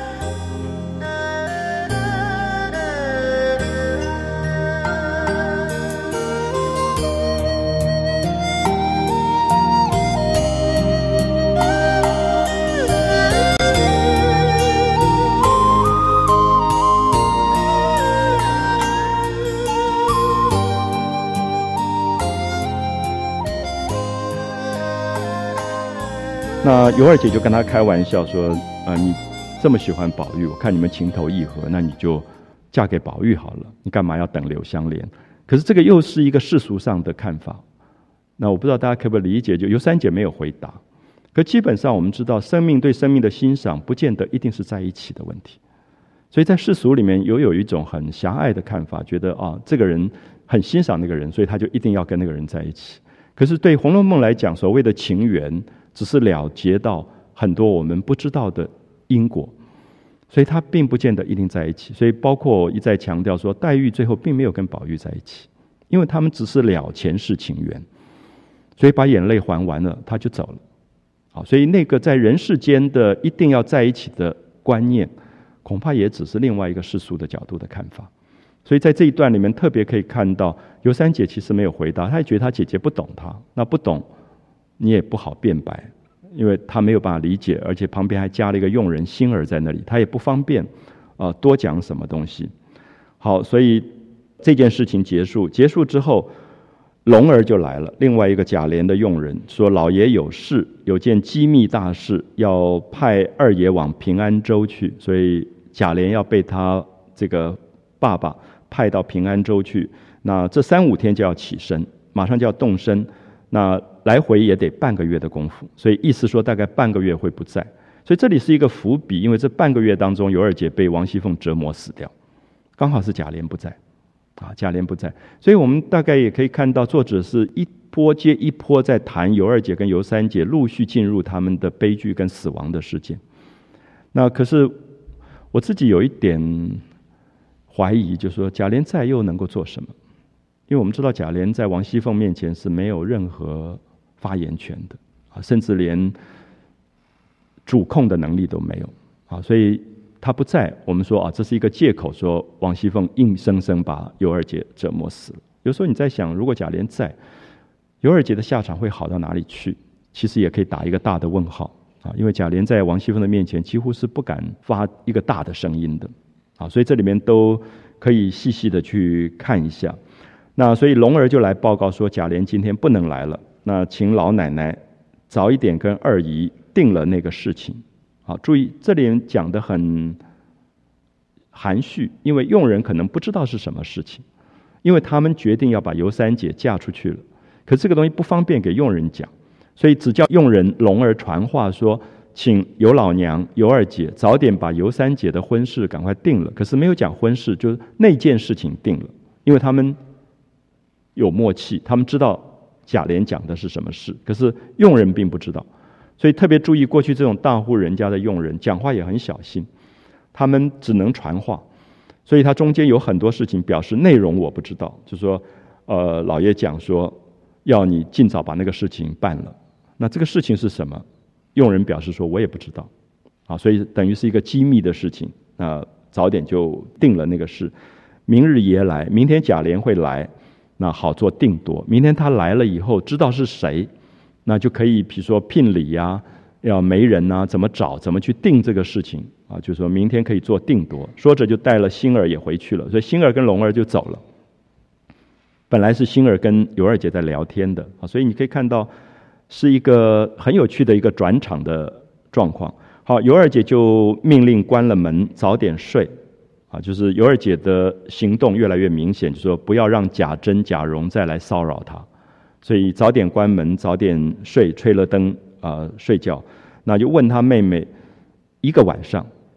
那尤二姐就跟他开玩笑说：“你这么喜欢宝玉，我看你们情投意合，那你就嫁给宝玉好了，你干嘛要等柳湘莲？”可是这个又是一个世俗上的看法。那我不知道大家可不可以理解？就尤三姐没有回答。可基本上我们知道，生命对生命的欣赏，不见得一定是在一起的问题。所以在世俗里面，有一种很狭隘的看法，觉得这个人很欣赏那个人，所以他就一定要跟那个人在一起。可是对《红楼梦》来讲，所谓的情缘，只是了结到很多我们不知道的因果，所以他并不见得一定在一起。所以包括我一再强调说，黛玉最后并没有跟宝玉在一起，因为他们只是了前世情缘，所以把眼泪还完了，他就走了。好，所以那个在人世间的一定要在一起的观念，恐怕也只是另外一个世俗的角度的看法。所以在这一段里面特别可以看到，尤三姐其实没有回答，她也觉得她姐姐不懂她，那不懂你也不好辩白，因为她没有办法理解，而且旁边还加了一个佣人星儿在那里，她也不方便多讲什么东西。好，所以这件事情结束之后，龙儿就来了，另外一个贾琏的佣人说，老爷有事，有件机密大事，要派二爷往平安州去，所以贾琏要被他这个爸爸派到平安州去。那这3-5天就要起身，马上就要动身，那来回也得半个月的功夫，所以意思说大概半个月会不在。所以这里是一个伏笔，因为这半个月当中，尤二姐被王熙凤折磨死掉，刚好是贾琏不在。贾琏不在，所以我们大概也可以看到，作者是一波接一波在谈尤二姐跟尤三姐陆续进入他们的悲剧跟死亡的事件。那可是我自己有一点怀疑，就是说贾琏在又能够做什么？因为我们知道贾琏在王熙凤面前是没有任何发言权的，甚至连主控的能力都没有，所以他不在，我们说这是一个借口，说王熙凤硬生生把尤二姐折磨死了。有时候你在想，如果贾琏在，尤二姐的下场会好到哪里去？其实也可以打一个大的问号因为贾琏在王熙凤的面前几乎是不敢发一个大的声音的所以这里面都可以细细的去看一下。那所以龙儿就来报告说，贾琏今天不能来了，那请老奶奶早一点跟二姨定了那个事情。好，注意这里讲得很含蓄，因为佣人可能不知道是什么事情，因为他们决定要把尤三姐嫁出去了，可这个东西不方便给佣人讲，所以只叫佣人龙儿传话说，请尤老娘、尤二姐早点把尤三姐的婚事赶快定了。可是没有讲婚事，就是那件事情定了，因为他们有默契，他们知道贾琏讲的是什么事，可是佣人并不知道。所以特别注意，过去这种大户人家的佣人讲话也很小心，他们只能传话，所以他中间有很多事情表示内容我不知道，就是说老爷讲说要你尽早把那个事情办了，那这个事情是什么？佣人表示说我也不知道所以等于是一个机密的事情，早点就定了那个事。明日爷来，明天贾琏会来，那好做定夺。明天他来了以后，知道是谁，那就可以比如说聘礼要媒人怎么找，怎么去定这个事情就是说明天可以做定夺。说着就带了星儿也回去了，所以星儿跟龙儿就走了。本来是星儿跟尤二姐在聊天的所以你可以看到是一个很有趣的一个转场的状况。好，尤二姐就命令关了门，早点睡就是尤二姐的行动越来越明显，就是说不要让贾珍、贾蓉再来骚扰她，所以早点关门，早点睡，吹了灯睡觉。那就问她妹妹，一个晚上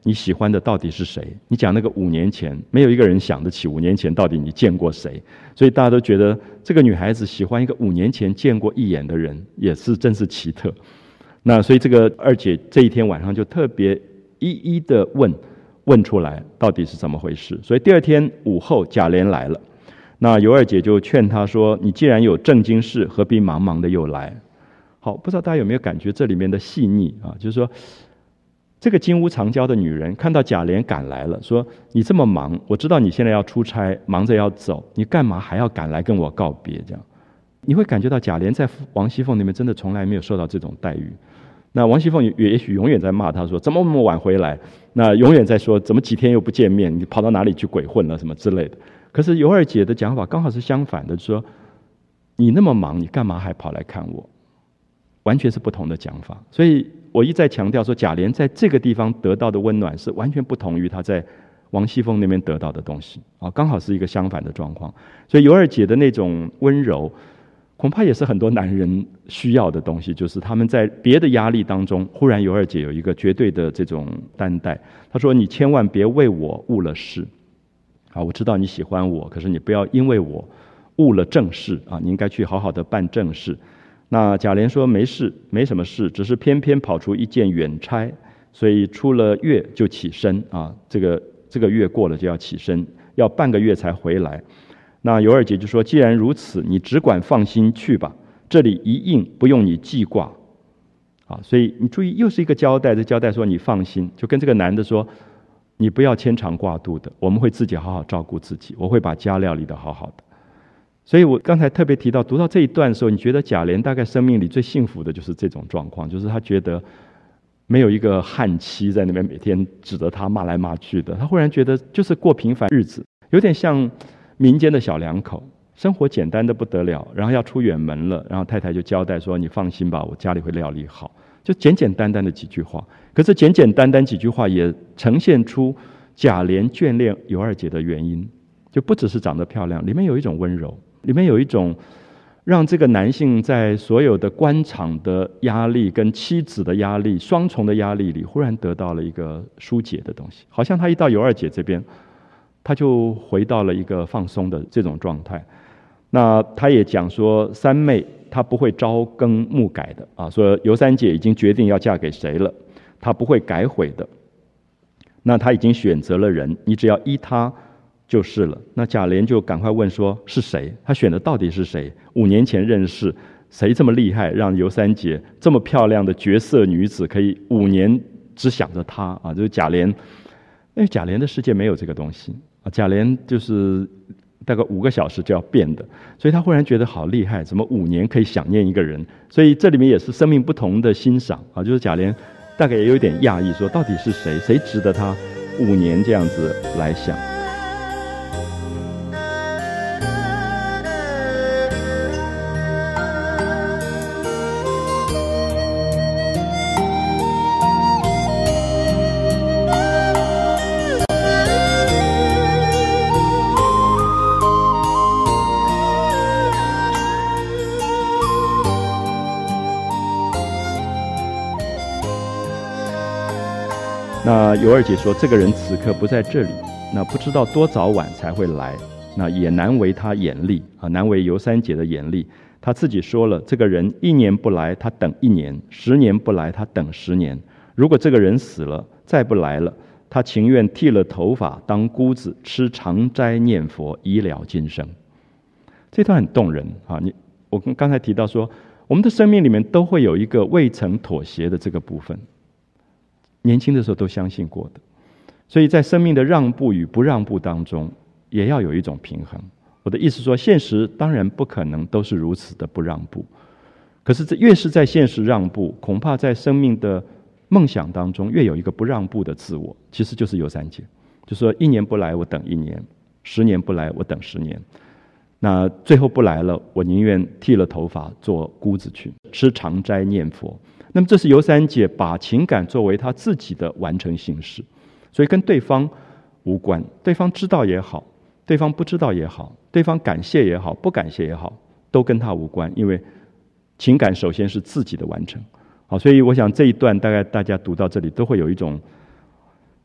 你喜欢的到底是谁？你讲那个5年前，没有一个人想得起5年前到底你见过谁，所以大家都觉得这个女孩子喜欢一个5年前见过一眼的人，也是真是奇特。那所以这个二姐这一天晚上就特别一一的问出来到底是怎么回事。所以第二天午后贾琏来了，那尤二姐就劝他说，你既然有正经事，何必忙忙的又来？好，不知道大家有没有感觉这里面的细腻啊？就是说这个金屋藏娇的女人看到贾琏赶来了，说你这么忙，我知道你现在要出差，忙着要走，你干嘛还要赶来跟我告别？这样你会感觉到贾琏在王熙凤那边真的从来没有受到这种待遇。那王熙凤也许永远在骂他说怎么那么晚回来，那永远在说怎么几天又不见面，你跑到哪里去鬼混了什么之类的。可是尤二姐的讲法刚好是相反的，说你那么忙，你干嘛还跑来看我？完全是不同的讲法。所以我一再强调说，贾琏在这个地方得到的温暖是完全不同于他在王熙凤那边得到的东西啊，刚好是一个相反的状况。所以尤二姐的那种温柔，恐怕也是很多男人需要的东西，就是他们在别的压力当中，忽然尤二姐有一个绝对的这种担待。她说：“你千万别为我误了事啊！我知道你喜欢我，可是你不要因为我误了正事啊！你应该去好好的办正事。”那贾琏说没事，没什么事，只是偏偏跑出一件远差，所以出了月就起身啊。这个月过了就要起身，要半个月才回来。那尤二姐就说：“既然如此，你只管放心去吧，这里一应不用你记挂。”啊，所以你注意，又是一个交代，这交代说你放心，就跟这个男的说，你不要牵肠挂肚的，我们会自己好好照顾自己，我会把家料理得好好的。所以我刚才特别提到，读到这一段的时候，你觉得贾琏大概生命里最幸福的就是这种状况，就是他觉得没有一个悍妻在那边每天指着他骂来骂去的，他忽然觉得就是过平凡日子，有点像民间的小两口，生活简单的不得了，然后要出远门了，然后太太就交代说：“你放心吧，我家里会料理好。”就简简单单的几句话，可是简简单单几句话也呈现出贾琏眷恋尤二姐的原因，就不只是长得漂亮，里面有一种温柔，里面有一种让这个男性在所有的官场的压力跟妻子的压力双重的压力里，忽然得到了一个疏解的东西，好像他一到尤二姐这边，他就回到了一个放松的这种状态。那他也讲说，三妹她不会朝更暮改的啊，说尤三姐已经决定要嫁给谁了，她不会改悔的。那她已经选择了人，你只要依她就是了。那贾琏就赶快问说是谁？他选的到底是谁？5年前认识，谁这么厉害，让尤三姐这么漂亮的绝色女子可以5年只想着她啊？就是贾琏，因为贾琏的世界没有这个东西啊，贾琏就是大概5个小时就要变的，所以他忽然觉得好厉害，怎么5年可以想念一个人？所以这里面也是生命不同的欣赏啊，就是贾琏大概也有点讶异，说到底是谁？谁值得他5年这样子来想？那尤二姐说，这个人此刻不在这里，那不知道多早晚才会来，那也难为他眼力啊，难为尤三姐的眼力。她自己说了，这个人1年不来，他等1年；10年不来，他等10年。如果这个人死了，再不来了，他情愿剃了头发当姑子，吃长斋念佛，以了今生。这段很动人啊！我刚才提到说，我们的生命里面都会有一个未曾妥协的这个部分。年轻的时候都相信过的，所以在生命的让步与不让步当中，也要有一种平衡。我的意思说，现实当然不可能都是如此的不让步，可是这越是在现实让步，恐怕在生命的梦想当中越有一个不让步的自我，其实就是尤三姐，就说1年不来我等1年，10年不来我等10年，那最后不来了，我宁愿剃了头发做姑子去，吃长斋念佛。那么这是尤三姐把情感作为她自己的完成形式，所以跟对方无关，对方知道也好，对方不知道也好，对方感谢也好，不感谢也好，都跟她无关，因为情感首先是自己的完成。好，所以我想这一段大概大家读到这里都会有一种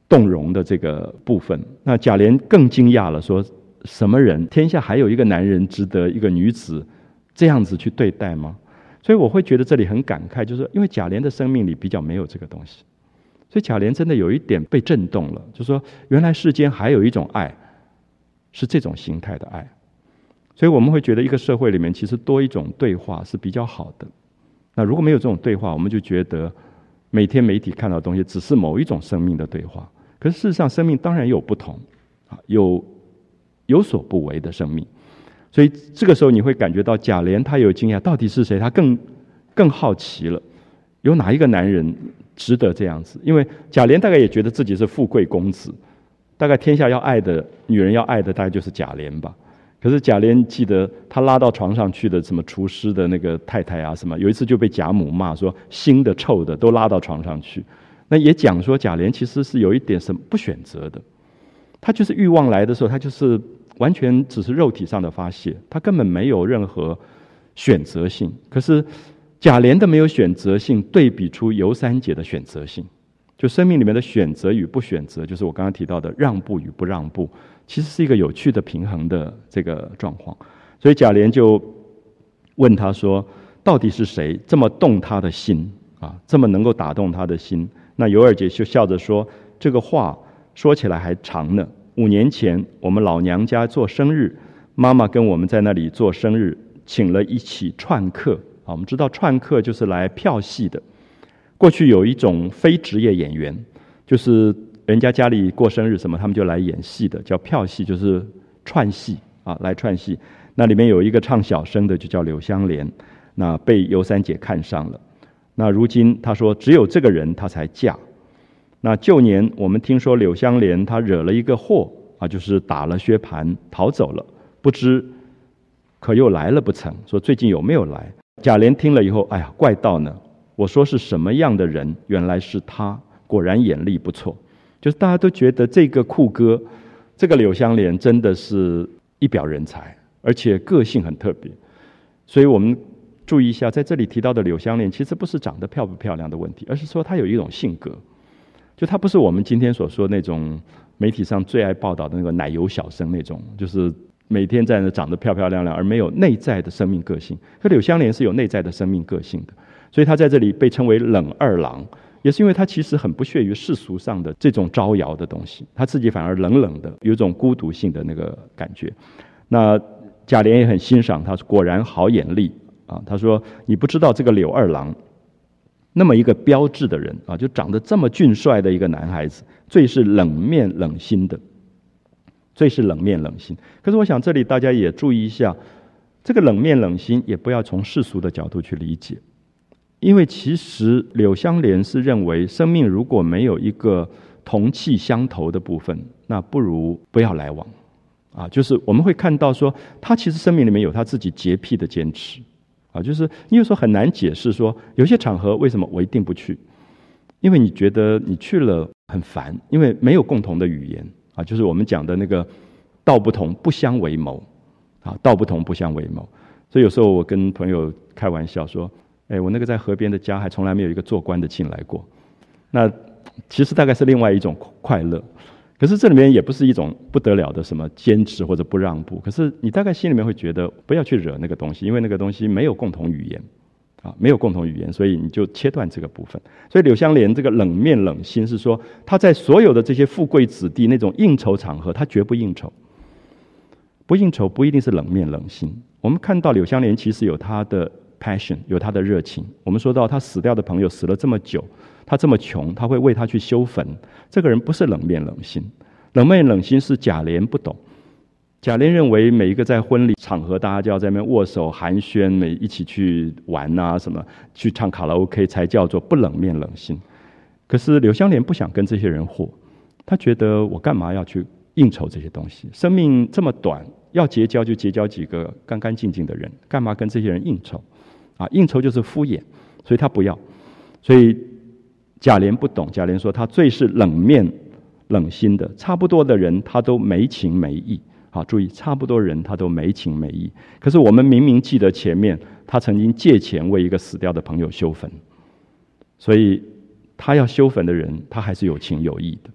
动容的这个部分。那贾琏更惊讶了，说什么人？天下还有一个男人值得一个女子这样子去对待吗？所以我会觉得这里很感慨，就是因为贾琏的生命里比较没有这个东西，所以贾琏真的有一点被震动了，就是说原来世间还有一种爱是这种形态的爱。所以我们会觉得一个社会里面其实多一种对话是比较好的。那如果没有这种对话，我们就觉得每天媒体看到的东西只是某一种生命的对话。可是事实上生命当然有不同，有所不为的生命。所以这个时候你会感觉到贾琏他有惊讶，到底是谁？他更好奇了，有哪一个男人值得这样子？因为贾琏大概也觉得自己是富贵公子，大概天下要爱的女人要爱的大概就是贾琏吧。可是贾琏记得他拉到床上去的什么厨师的那个太太啊什么，有一次就被贾母骂说腥的臭的都拉到床上去。那也讲说贾琏其实是有一点什么不选择的，他就是欲望来的时候，他就是完全只是肉体上的发泄，他根本没有任何选择性。可是贾琏的没有选择性对比出尤三姐的选择性，就生命里面的选择与不选择，就是我刚刚提到的让步与不让步，其实是一个有趣的平衡的这个状况。所以贾琏就问他说，到底是谁这么动他的心啊，这么能够打动他的心？那尤二姐就笑着说，这个话说起来还长呢。5年前我们老娘家做生日，妈妈跟我们在那里做生日，请了一起串客啊。我们知道串客就是来票戏的。过去有一种非职业演员，就是人家家里过生日什么，他们就来演戏的，叫票戏，就是串戏啊，来串戏。那里面有一个唱小生的，就叫柳湘莲，那被尤三姐看上了。那如今她说只有这个人她才嫁。那旧年我们听说柳湘莲她惹了一个祸啊，就是打了薛蟠逃走了，不知可又来了不成？说最近有没有来？贾琏听了以后，哎呀，怪道呢。我说是什么样的人？原来是他，果然眼力不错。就是大家都觉得这个酷哥，这个柳湘莲真的是一表人才，而且个性很特别。所以我们注意一下，在这里提到的柳湘莲，其实不是长得漂不漂亮的问题，而是说她有一种性格，就她不是我们今天所说那种媒体上最爱报道的那个奶油小生那种，就是每天在那长得漂漂亮亮，而没有内在的生命个性。可柳湘莲是有内在的生命个性的。所以他在这里被称为冷二郎，也是因为他其实很不屑于世俗上的这种招摇的东西，他自己反而冷冷的，有一种孤独性的那个感觉。那贾琏也很欣赏他，果然好眼力啊。他说你不知道这个柳二郎那么一个标致的人啊，就长得这么俊帅的一个男孩子，最是冷面冷心的，最是冷面冷心。可是我想这里大家也注意一下，这个冷面冷心也不要从世俗的角度去理解。因为其实柳湘莲是认为生命如果没有一个同气相投的部分，那不如不要来往啊。就是我们会看到说他其实生命里面有他自己洁癖的坚持啊，就是你有时候很难解释说有些场合为什么我一定不去，因为你觉得你去了很烦，因为没有共同的语言啊，就是我们讲的那个道不同不相为谋啊，道不同不相为谋。所以有时候我跟朋友开玩笑说，我那个在河边的家还从来没有一个做官的进来过，那其实大概是另外一种快乐。可是这里面也不是一种不得了的什么坚持或者不让步，可是你大概心里面会觉得不要去惹那个东西，因为那个东西没有共同语言啊，没有共同语言，所以你就切断这个部分。所以柳湘莲这个冷面冷心是说，他在所有的这些富贵子弟那种应酬场合，他绝不应酬。不应酬不一定是冷面冷心。我们看到柳湘莲其实有他的passion， 有他的热情。我们说到他死掉的朋友死了这么久，他这么穷，他会为他去修坟。这个人不是冷面冷心，冷面冷心是贾琏不懂。贾琏认为每一个在婚礼场合，大家就要在那边握手寒暄，一起去玩啊，什么去唱卡拉 OK 才叫做不冷面冷心。可是柳湘莲不想跟这些人和，他觉得我干嘛要去应酬这些东西？生命这么短，要结交就结交几个干干净净的人，干嘛跟这些人应酬？啊，应酬就是敷衍，所以他不要。所以贾琏不懂，贾琏说他最是冷面冷心的，差不多的人他都没情没义。好，注意，差不多人他都没情没义。可是我们明明记得前面他曾经借钱为一个死掉的朋友修坟，所以他要修坟的人，他还是有情有义的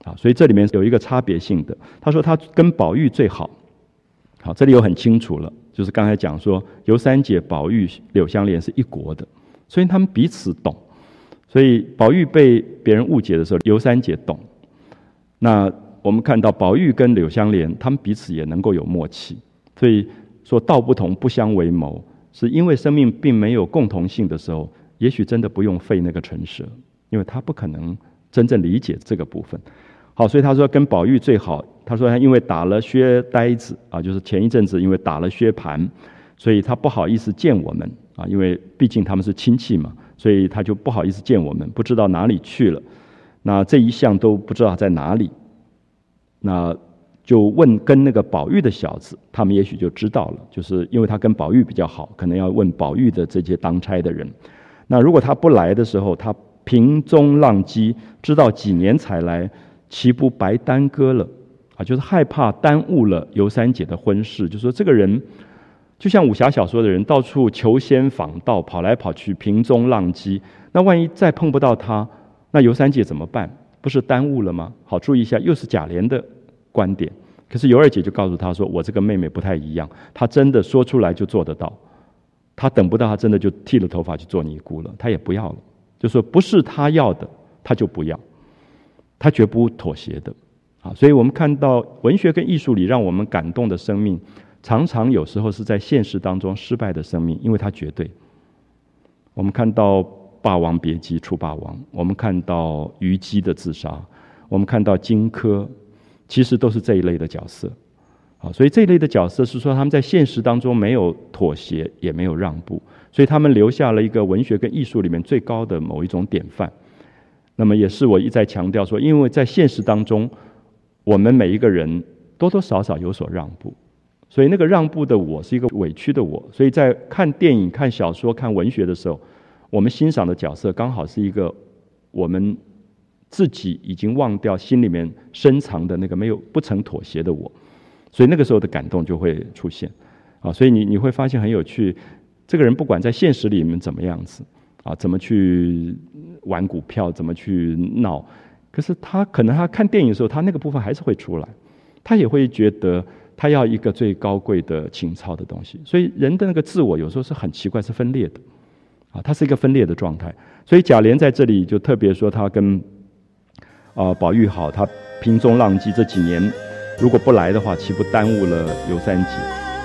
所以这里面有一个差别性的。他说他跟宝玉最好，好，这里有很清楚了，就是刚才讲说尤三姐、宝玉、柳湘莲是一国的，所以他们彼此懂。所以宝玉被别人误解的时候，尤三姐懂。那我们看到宝玉跟柳湘莲，他们彼此也能够有默契。所以说道不同不相为谋，是因为生命并没有共同性的时候，也许真的不用费那个唇舌，因为他不可能真正理解这个部分。好，所以他说跟宝玉最好。他说他因为打了薛呆子就是前一阵子因为打了薛蟠，所以他不好意思见我们因为毕竟他们是亲戚嘛，所以他就不好意思见我们，不知道哪里去了。那这一项都不知道在哪里，那就问跟那个宝玉的小子，他们也许就知道了，就是因为他跟宝玉比较好，可能要问宝玉的这些当差的人。那如果他不来的时候，他平中浪迹，知道几年才来，岂不白耽搁了就是害怕耽误了尤三姐的婚事。就说这个人就像武侠小说的人，到处求仙访道，跑来跑去，平中浪迹，那万一再碰不到他，那尤三姐怎么办？不是耽误了吗？好，注意一下，又是贾琏的观点。可是尤二姐就告诉他说，我这个妹妹不太一样，她真的说出来就做得到，她等不到，她真的就剃了头发去做尼姑了，她也不要了。就说不是她要的，她就不要，她绝不妥协的。所以我们看到文学跟艺术里让我们感动的生命，常常有时候是在现实当中失败的生命，因为它绝对。我们看到《霸王别姬》出霸王，我们看到虞姬的自杀，我们看到荆轲，其实都是这一类的角色。所以这一类的角色是说他们在现实当中没有妥协，也没有让步，所以他们留下了一个文学跟艺术里面最高的某一种典范。那么也是我一再强调说，因为在现实当中我们每一个人多多少少有所让步，所以那个让步的我是一个委屈的我，所以在看电影、看小说、看文学的时候，我们欣赏的角色刚好是一个我们自己已经忘掉心里面深藏的那个不曾妥协的我，所以那个时候的感动就会出现所以你会发现很有趣，这个人不管在现实里面怎么样子怎么去玩股票，怎么去闹，可是他可能他看电影的时候，他那个部分还是会出来，他也会觉得他要一个最高贵的情操的东西。所以人的那个自我有时候是很奇怪，是分裂的它是一个分裂的状态。所以贾琏在这里就特别说他跟宝玉好，他平中浪迹这几年如果不来的话，岂不耽误了尤三姐。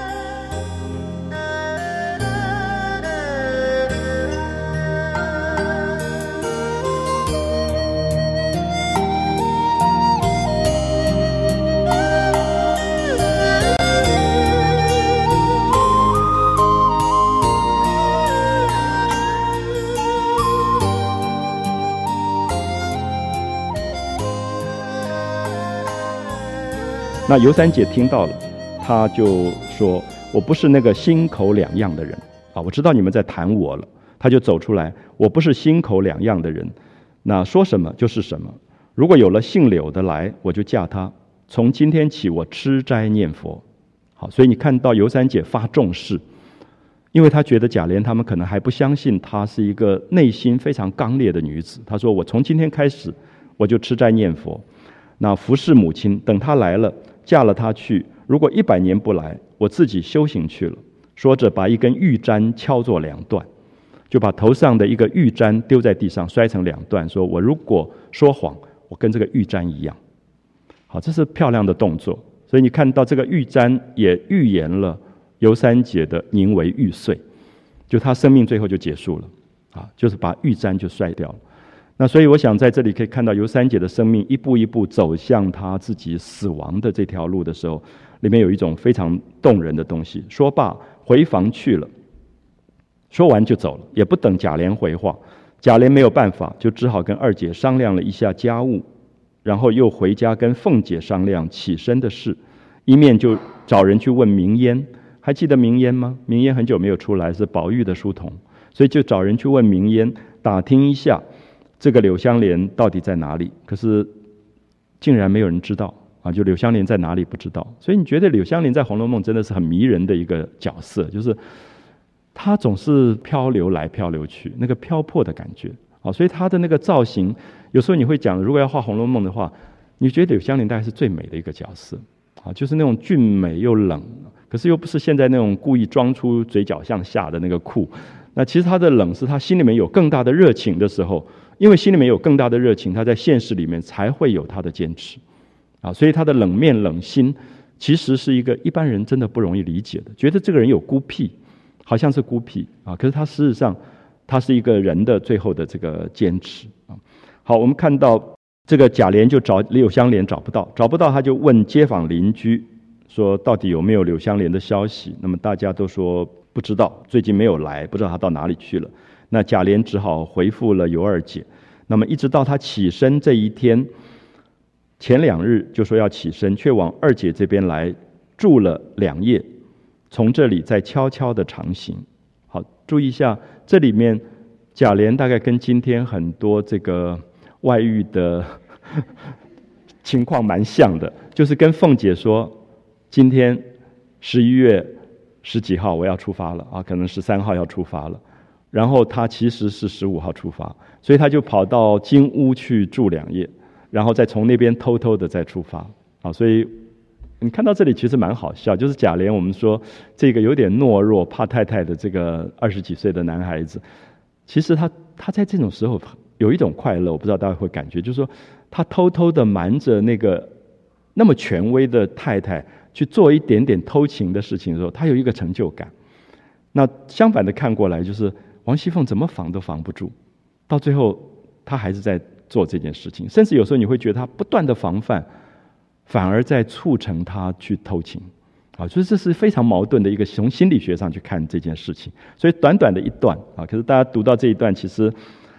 那尤三姐听到了，她就说，我不是那个心口两样的人我知道你们在谈我了。她就走出来，我不是心口两样的人，那说什么就是什么，如果有了姓柳的来，我就嫁他，从今天起我吃斋念佛。好，所以你看到尤三姐发重视，因为她觉得贾琏他们可能还不相信她是一个内心非常刚烈的女子。她说，我从今天开始我就吃斋念佛，那服侍母亲，等她来了嫁了他去，如果100年不来，我自己修行去了。说着把一根玉簪敲作2段，就把头上的一个玉簪丢在地上，摔成2段，说我如果说谎，我跟这个玉簪一样。好，这是漂亮的动作。所以你看到这个玉簪也预言了尤三姐的宁为玉碎，就她生命最后就结束了就是把玉簪就摔掉了。那所以我想在这里可以看到尤三姐的生命一步一步走向她自己死亡的这条路的时候，里面有一种非常动人的东西。说罢回房去了，说完就走了，也不等贾琏回话。贾琏没有办法，就只好跟二姐商量了一下家务，然后又回家跟凤姐商量起身的事，一面就找人去问明烟。还记得明烟吗？明烟很久没有出来，是宝玉的书童，所以就找人去问明烟，打听一下这个柳湘莲到底在哪里。可是竟然没有人知道就柳湘莲在哪里不知道。所以你觉得柳湘莲在《红楼梦》真的是很迷人的一个角色，就是她总是漂流来漂流去，那个漂泊的感觉所以她的那个造型，有时候你会讲，如果要画《红楼梦》的话， 你觉得柳湘莲大概是最美的一个角色啊，就是那种俊美又冷，可是又不是现在那种故意装出嘴角向下的那个酷。那其实他的冷是他心里面有更大的热情的时候，因为心里面有更大的热情，他在现实里面才会有他的坚持啊。所以他的冷面冷心，其实是一个一般人真的不容易理解的，觉得这个人有孤僻，好像是孤僻啊，可是他事实上他是一个人的最后的这个坚持啊。好，我们看到这个贾琏就找柳湘莲找不到，他就问街坊邻居说到底有没有柳湘莲的消息。那么大家都说不知道，最近没有来，不知道他到哪里去了。那贾琏只好回复了尤二姐。那么一直到他起身这一天，前2日就说要起身，却往二姐这边来住了2夜，从这里再悄悄的长行。好，注意一下，这里面贾琏大概跟今天很多这个外遇的情况蛮像的，就是跟凤姐说，今天11月10几号我要出发了啊，可能13号要出发了，然后他其实是15号出发，所以他就跑到金屋去住2夜，然后再从那边偷偷的再出发啊。所以你看到这里其实蛮好笑，就是贾琏我们说这个有点懦弱怕太太的这个20几岁的男孩子，其实他在这种时候有一种快乐，我不知道大家会感觉，就是说他偷偷的瞒着那个那么权威的太太去做一点点偷情的事情的时候，他有一个成就感。那相反的看过来，就是王熙凤怎么防都防不住，到最后他还是在做这件事情，甚至有时候你会觉得他不断的防范，反而在促成他去偷情啊，所以这是非常矛盾的一个，从心理学上去看这件事情。所以短短的一段啊，可是大家读到这一段，其实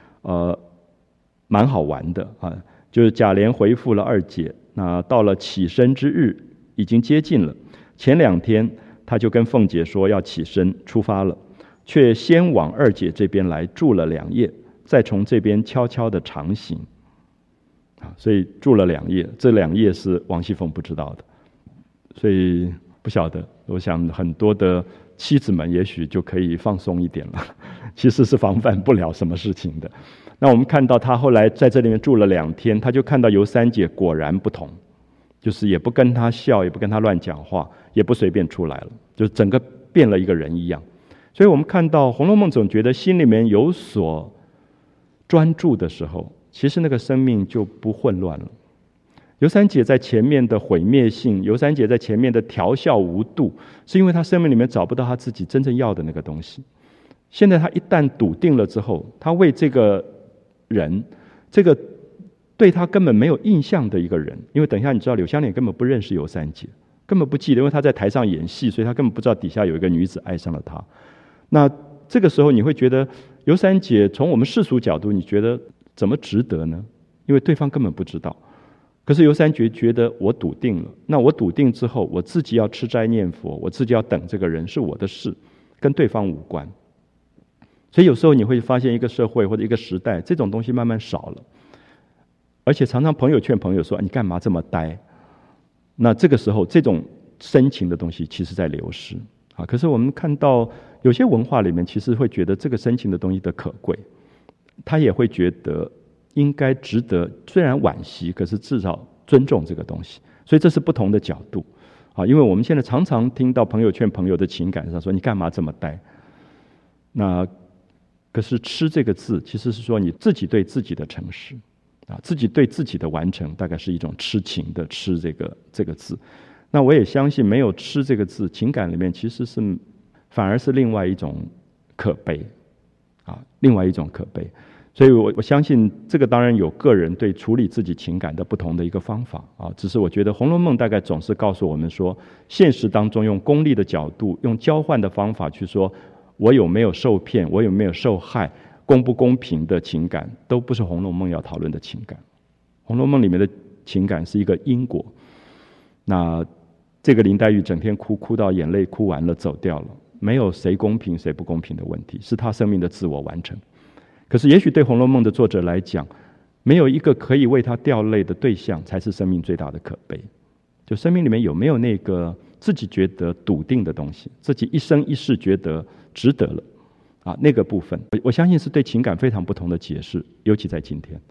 蛮好玩的啊。就是贾琏回复了二姐，那到了起身之日已经接近了，前2天他就跟凤姐说要起身出发了，却先往二姐这边来住了2夜，再从这边悄悄的长行啊。所以住了2夜，这2夜是王熙凤不知道的，所以不晓得，我想很多的妻子们也许就可以放松一点了，其实是防范不了什么事情的。那我们看到他后来在这里面住了2天，他就看到尤三姐果然不同，就是也不跟他笑，也不跟他乱讲话，也不随便出来了，就整个变了一个人一样。所以我们看到《红楼梦》总觉得心里面有所专注的时候，其实那个生命就不混乱了。尤三姐在前面的毁灭性，尤三姐在前面的调笑无度，是因为她生命里面找不到她自己真正要的那个东西。现在她一旦笃定了之后，她为这个人，这个对她根本没有印象的一个人，因为等一下你知道柳湘莲根本不认识尤三姐，根本不记得，因为她在台上演戏，所以她根本不知道底下有一个女子爱上了她。那这个时候你会觉得尤三姐从我们世俗角度，你觉得怎么值得呢？因为对方根本不知道。可是尤三姐觉得我笃定了，那我笃定之后，我自己要吃斋念佛，我自己要等这个人是我的事，跟对方无关。所以有时候你会发现一个社会或者一个时代，这种东西慢慢少了，而且常常朋友劝朋友说你干嘛这么呆，那这个时候这种深情的东西其实在流失啊。可是我们看到有些文化里面其实会觉得这个深情的东西的可贵，他也会觉得应该值得，虽然惋惜，可是至少尊重这个东西。所以这是不同的角度啊。因为我们现在常常听到朋友劝朋友的情感上说你干嘛这么呆，那可是痴这个字其实是说你自己对自己的诚实啊，自己对自己的完成，大概是一种痴情的痴这个字。那我也相信没有痴这个字，情感里面其实是反而是另外一种可悲啊，另外一种可悲。所以我相信这个当然有个人对处理自己情感的不同的一个方法啊，只是我觉得《红楼梦》大概总是告诉我们说，现实当中用功利的角度，用交换的方法去说我有没有受骗，我有没有受害，公不公平的情感，都不是《红楼梦》要讨论的情感。《红楼梦》里面的情感是一个因果。那这个林黛玉整天哭到眼泪哭完了走掉了，没有谁公平谁不公平的问题，是她生命的自我完成。可是也许对《红楼梦》的作者来讲，没有一个可以为他掉泪的对象，才是生命最大的可悲。就生命里面有没有那个自己觉得笃定的东西，自己一生一世觉得值得了啊，那个部分我相信是对情感非常不同的解释，尤其在今天。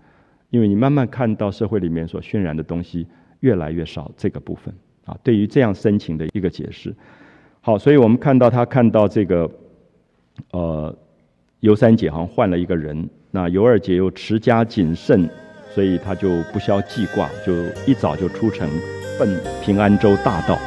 因为你慢慢看到社会里面所渲染的东西越来越少这个部分啊，对于这样深情的一个解释。好，所以我们看到这个尤三姐好像换了一个人，那尤二姐又持家谨慎，所以她就不消记挂，就一早就出城奔平安州大道。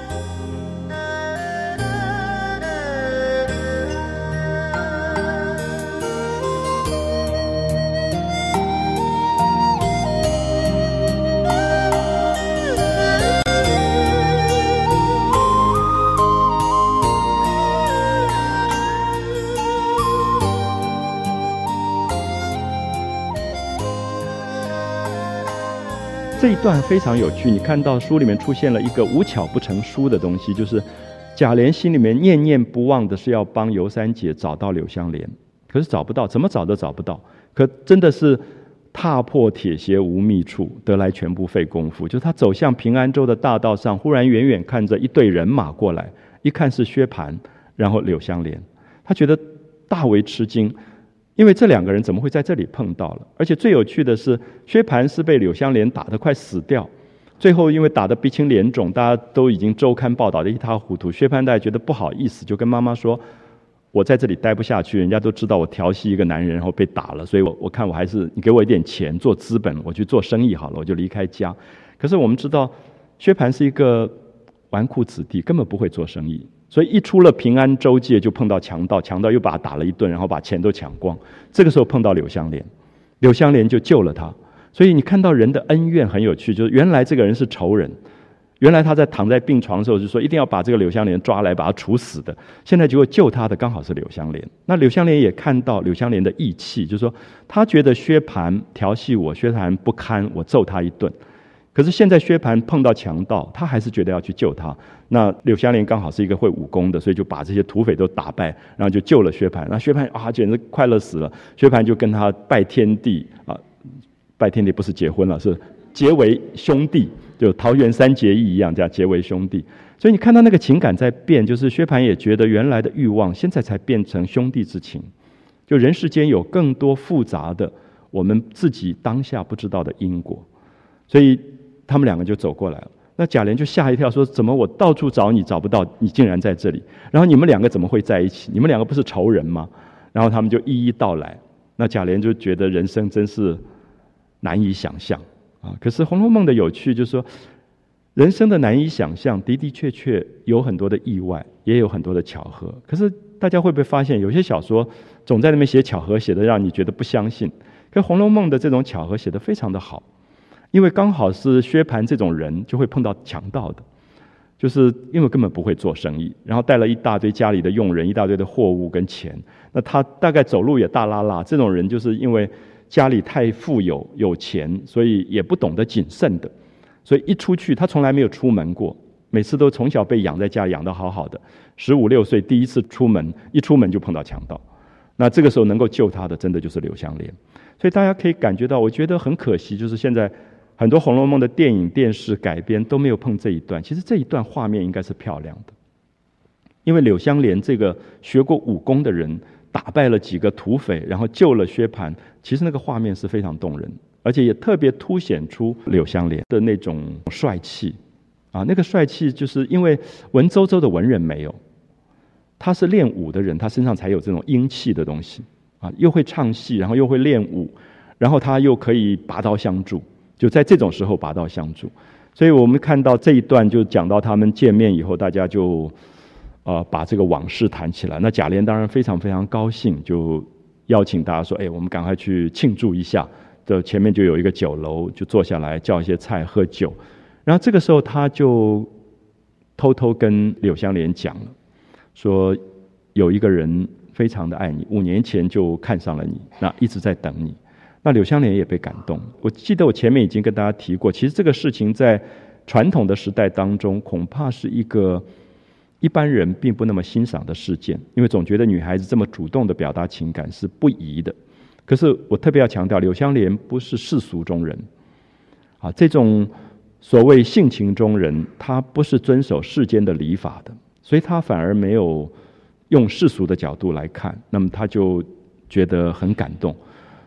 这一段非常有趣，你看到书里面出现了一个无巧不成书的东西，就是贾琏心里面念念不忘的是要帮尤三姐找到柳湘莲，可是找不到，怎么找都找不到。可真的是踏破铁鞋无觅处，得来全不费工夫。就是他走向平安州的大道上，忽然远远看着一队人马过来，一看是薛蟠，然后柳湘莲，他觉得大为吃惊。因为这两个人怎么会在这里碰到了？而且最有趣的是，薛蟠是被柳湘莲打得快死掉，最后因为打得鼻青脸肿，大家都已经周刊报道得一塌糊涂。薛蟠大家觉得不好意思，就跟妈妈说：“我在这里待不下去，人家都知道我调戏一个男人，然后被打了，所以我看我还是你给我一点钱做资本，我去做生意好了，我就离开家。”可是我们知道，薛蟠是一个纨绔子弟，根本不会做生意。所以一出了平安州界就碰到强盗，强盗又把他打了一顿，然后把钱都抢光。这个时候碰到柳湘莲，柳湘莲就救了他。所以你看到人的恩怨很有趣，就是原来这个人是仇人，原来他在躺在病床的时候就说一定要把这个柳湘莲抓来把他处死的，现在结果救他的刚好是柳湘莲。那柳湘莲也看到柳湘莲的义气，就是说他觉得薛蟠调戏我，薛蟠不堪，我揍他一顿。可是现在薛蟠碰到强盗，他还是觉得要去救他。那柳湘莲刚好是一个会武功的，所以就把这些土匪都打败，然后就救了薛蟠。那薛蟠啊，简直快乐死了。薛蟠就跟他拜天地啊，拜天地不是结婚了，是结为兄弟，就桃园三结义一样，这样结为兄弟。所以你看到那个情感在变，就是薛蟠也觉得原来的欲望，现在才变成兄弟之情。就人世间有更多复杂的，我们自己当下不知道的因果，所以他们两个就走过来了。那贾琏就吓一跳，说：“怎么我到处找你找不到，你竟然在这里？然后你们两个怎么会在一起？你们两个不是仇人吗？”然后他们就一一道来。那贾琏就觉得人生真是难以想象啊！可是《红楼梦》的有趣就是说，人生的难以想象的的确确有很多的意外，也有很多的巧合。可是大家会不会发现，有些小说总在那边写巧合，写的让你觉得不相信？可《红楼梦》的这种巧合写得非常的好。因为刚好是薛蟠这种人就会碰到强盗的，就是因为根本不会做生意，然后带了一大堆家里的佣人，一大堆的货物跟钱。那他大概走路也大拉拉，这种人就是因为家里太富有有钱，所以也不懂得谨慎的，所以一出去他从来没有出门过，每次都从小被养在家养得好好的，15、16岁第一次出门，一出门就碰到强盗。那这个时候能够救他的真的就是柳湘莲。所以大家可以感觉到，我觉得很可惜，就是现在很多《红楼梦》的电影、电视改编都没有碰这一段。其实这一段画面应该是漂亮的，因为柳湘莲这个学过武功的人，打败了几个土匪，然后救了薛蟠，其实那个画面是非常动人，而且也特别凸显出柳湘莲的那种帅气啊，那个帅气就是因为文绉绉的文人没有，他是练武的人，他身上才有这种英气的东西啊，又会唱戏，然后又会练武，然后他又可以拔刀相助。就在这种时候拔刀相助，所以我们看到这一段就讲到他们见面以后，大家就把这个往事谈起来。那贾琏当然非常非常高兴，就邀请大家说：“哎，我们赶快去庆祝一下。”的前面就有一个酒楼，就坐下来叫一些菜喝酒。然后这个时候他就偷偷跟柳湘莲讲了，说有一个人非常的爱你，5年前就看上了你，那一直在等你。那柳湘莲也被感动。我记得我前面已经跟大家提过，其实这个事情在传统的时代当中，恐怕是一个一般人并不那么欣赏的事件，因为总觉得女孩子这么主动的表达情感是不宜的。可是我特别要强调，柳湘莲不是世俗中人啊，这种所谓性情中人，他不是遵守世间的礼法的，所以他反而没有用世俗的角度来看，那么他就觉得很感动。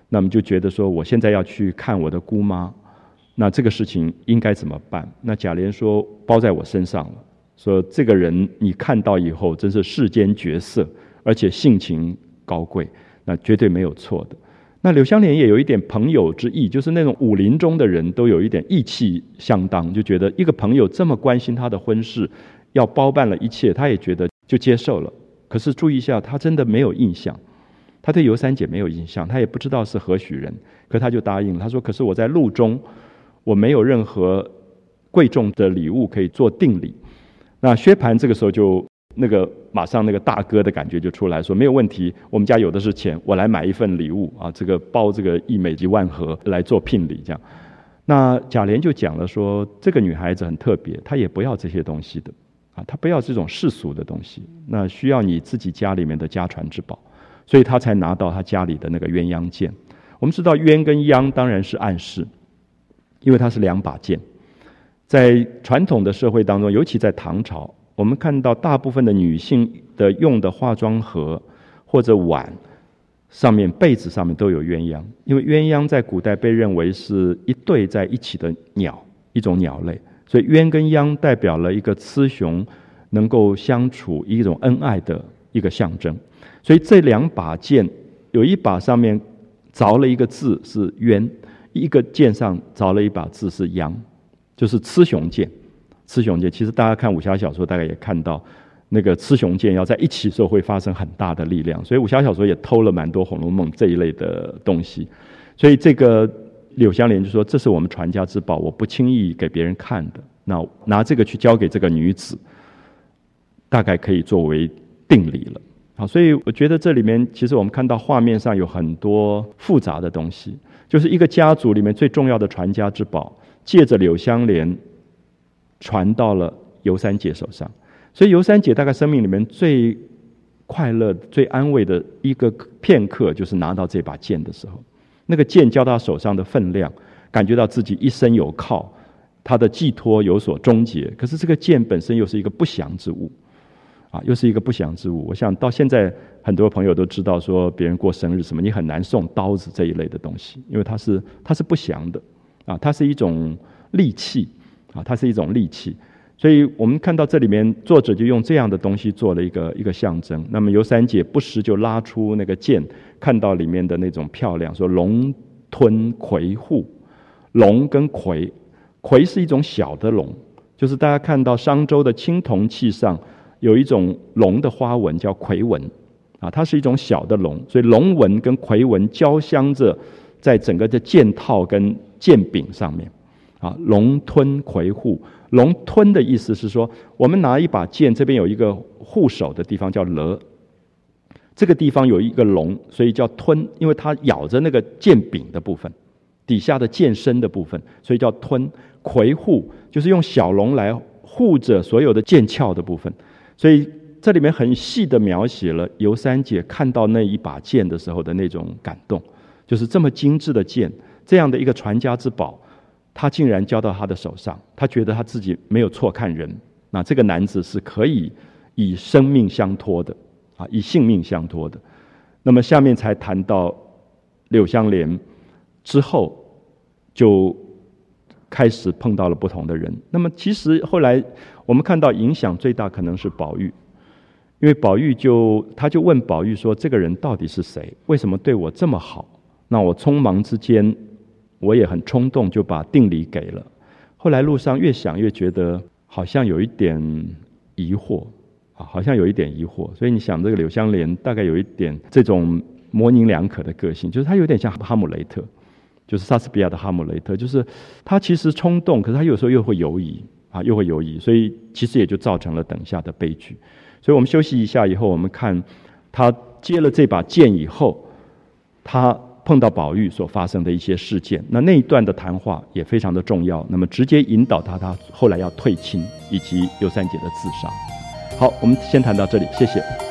那么就觉得说我现在要去看我的姑妈，那这个事情应该怎么办？那贾琏说包在我身上了，说这个人你看到以后真是世间绝色，而且性情高贵，那绝对没有错的。那柳湘莲也有一点朋友之意，就是那种武林中的人都有一点义气相当，就觉得一个朋友这么关心他的婚事，要包办了一切，他也觉得就接受了。可是注意一下，他真的没有印象，他对尤三姐没有印象，他也不知道是何许人，可他就答应了。他说可是我在路中我没有任何贵重的礼物可以做定礼。那薛蟠这个时候就马上那个大哥的感觉就出来，说没有问题，我们家有的是钱，我来买一份礼物啊，这个包这个1枚几万盒来做聘礼这样。那贾琏就讲了说，这个女孩子很特别，她也不要这些东西的啊，她不要这种世俗的东西，那需要你自己家里面的家传之宝，所以她才拿到她家里的那个鸳鸯剑。我们知道鸳跟鸯当然是暗示，因为它是2把剑。在传统的社会当中，尤其在唐朝，我们看到大部分的女性的用的化妆盒或者碗上面、被子上面都有鸳鸯，因为鸳鸯在古代被认为是一对在一起的鸟，一种鸟类，所以鸳跟鸯代表了一个雌雄能够相处、一种恩爱的一个象征。所以这2把剑，有一把上面凿了一个字是鸳，一个剑上凿了一把字是鸯，就是雌雄剑。雌雄剑其实大家看武侠小说大概也看到，那个雌雄剑要在一起的时候会发生很大的力量，所以武侠小说也偷了蛮多《红楼梦》这一类的东西。所以这个柳湘莲就说，这是我们传家之宝，我不轻易给别人看的，那拿这个去交给这个女子，大概可以作为定礼了。好，所以我觉得这里面其实我们看到画面上有很多复杂的东西，就是一个家族里面最重要的传家之宝，借着柳湘莲传到了尤三姐手上。所以尤三姐大概生命里面最快乐、最安慰的一个片刻，就是拿到这把剑的时候，那个剑交到手上的分量，感觉到自己一生有靠，他的寄托有所终结。可是这个剑本身又是一个不祥之物啊，又是一个不祥之物。我想到现在很多朋友都知道，说别人过生日什么，你很难送刀子这一类的东西，因为它是不祥的啊，它是一种利器啊，它是一种利器。所以我们看到这里面作者就用这样的东西做了一个象征。那么尤三姐不时就拉出那个剑，看到里面的那种漂亮，说龙吞葵户。龙跟葵，葵是一种小的龙，就是大家看到商周的青铜器上有一种龙的花纹叫葵纹啊，它是一种小的龙，所以龙纹跟葵纹交相着在整个的剑套跟剑柄上面啊。龙吞葵户，龙吞的意思是说，我们拿一把剑，这边有一个护手的地方叫勒，这个地方有一个龙，所以叫吞，因为它咬着那个剑柄的部分，底下的剑身的部分，所以叫吞。葵护就是用小龙来护着所有的剑鞘的部分，所以这里面很细的描写了尤三姐看到那一把剑的时候的那种感动，就是这么精致的剑，这样的一个传家之宝，他竟然交到他的手上，他觉得他自己没有错看人，那这个男子是可以以生命相托的啊，以性命相托的。那么下面才谈到柳湘莲之后，就开始碰到了不同的人。那么其实后来我们看到影响最大可能是宝玉，因为宝玉他就问宝玉说，这个人到底是谁？为什么对我这么好？那我匆忙之间，我也很冲动就把定礼给了。后来路上越想越觉得好像有一点疑惑啊，好像有一点疑惑。所以你想，这个柳湘莲大概有一点这种模棱两可的个性，就是他有点像哈姆雷特，就是莎士比亚的哈姆雷特，就是他其实冲动，可是他有时候又会犹疑啊，又会犹疑，所以其实也就造成了等下的悲剧。所以我们休息一下以后，我们看他接了这把剑以后，他碰到宝玉所发生的一些事件，那一段的谈话也非常的重要，那么直接引导他后来要退亲，以及尤三姐的自杀。好，我们先谈到这里，谢谢。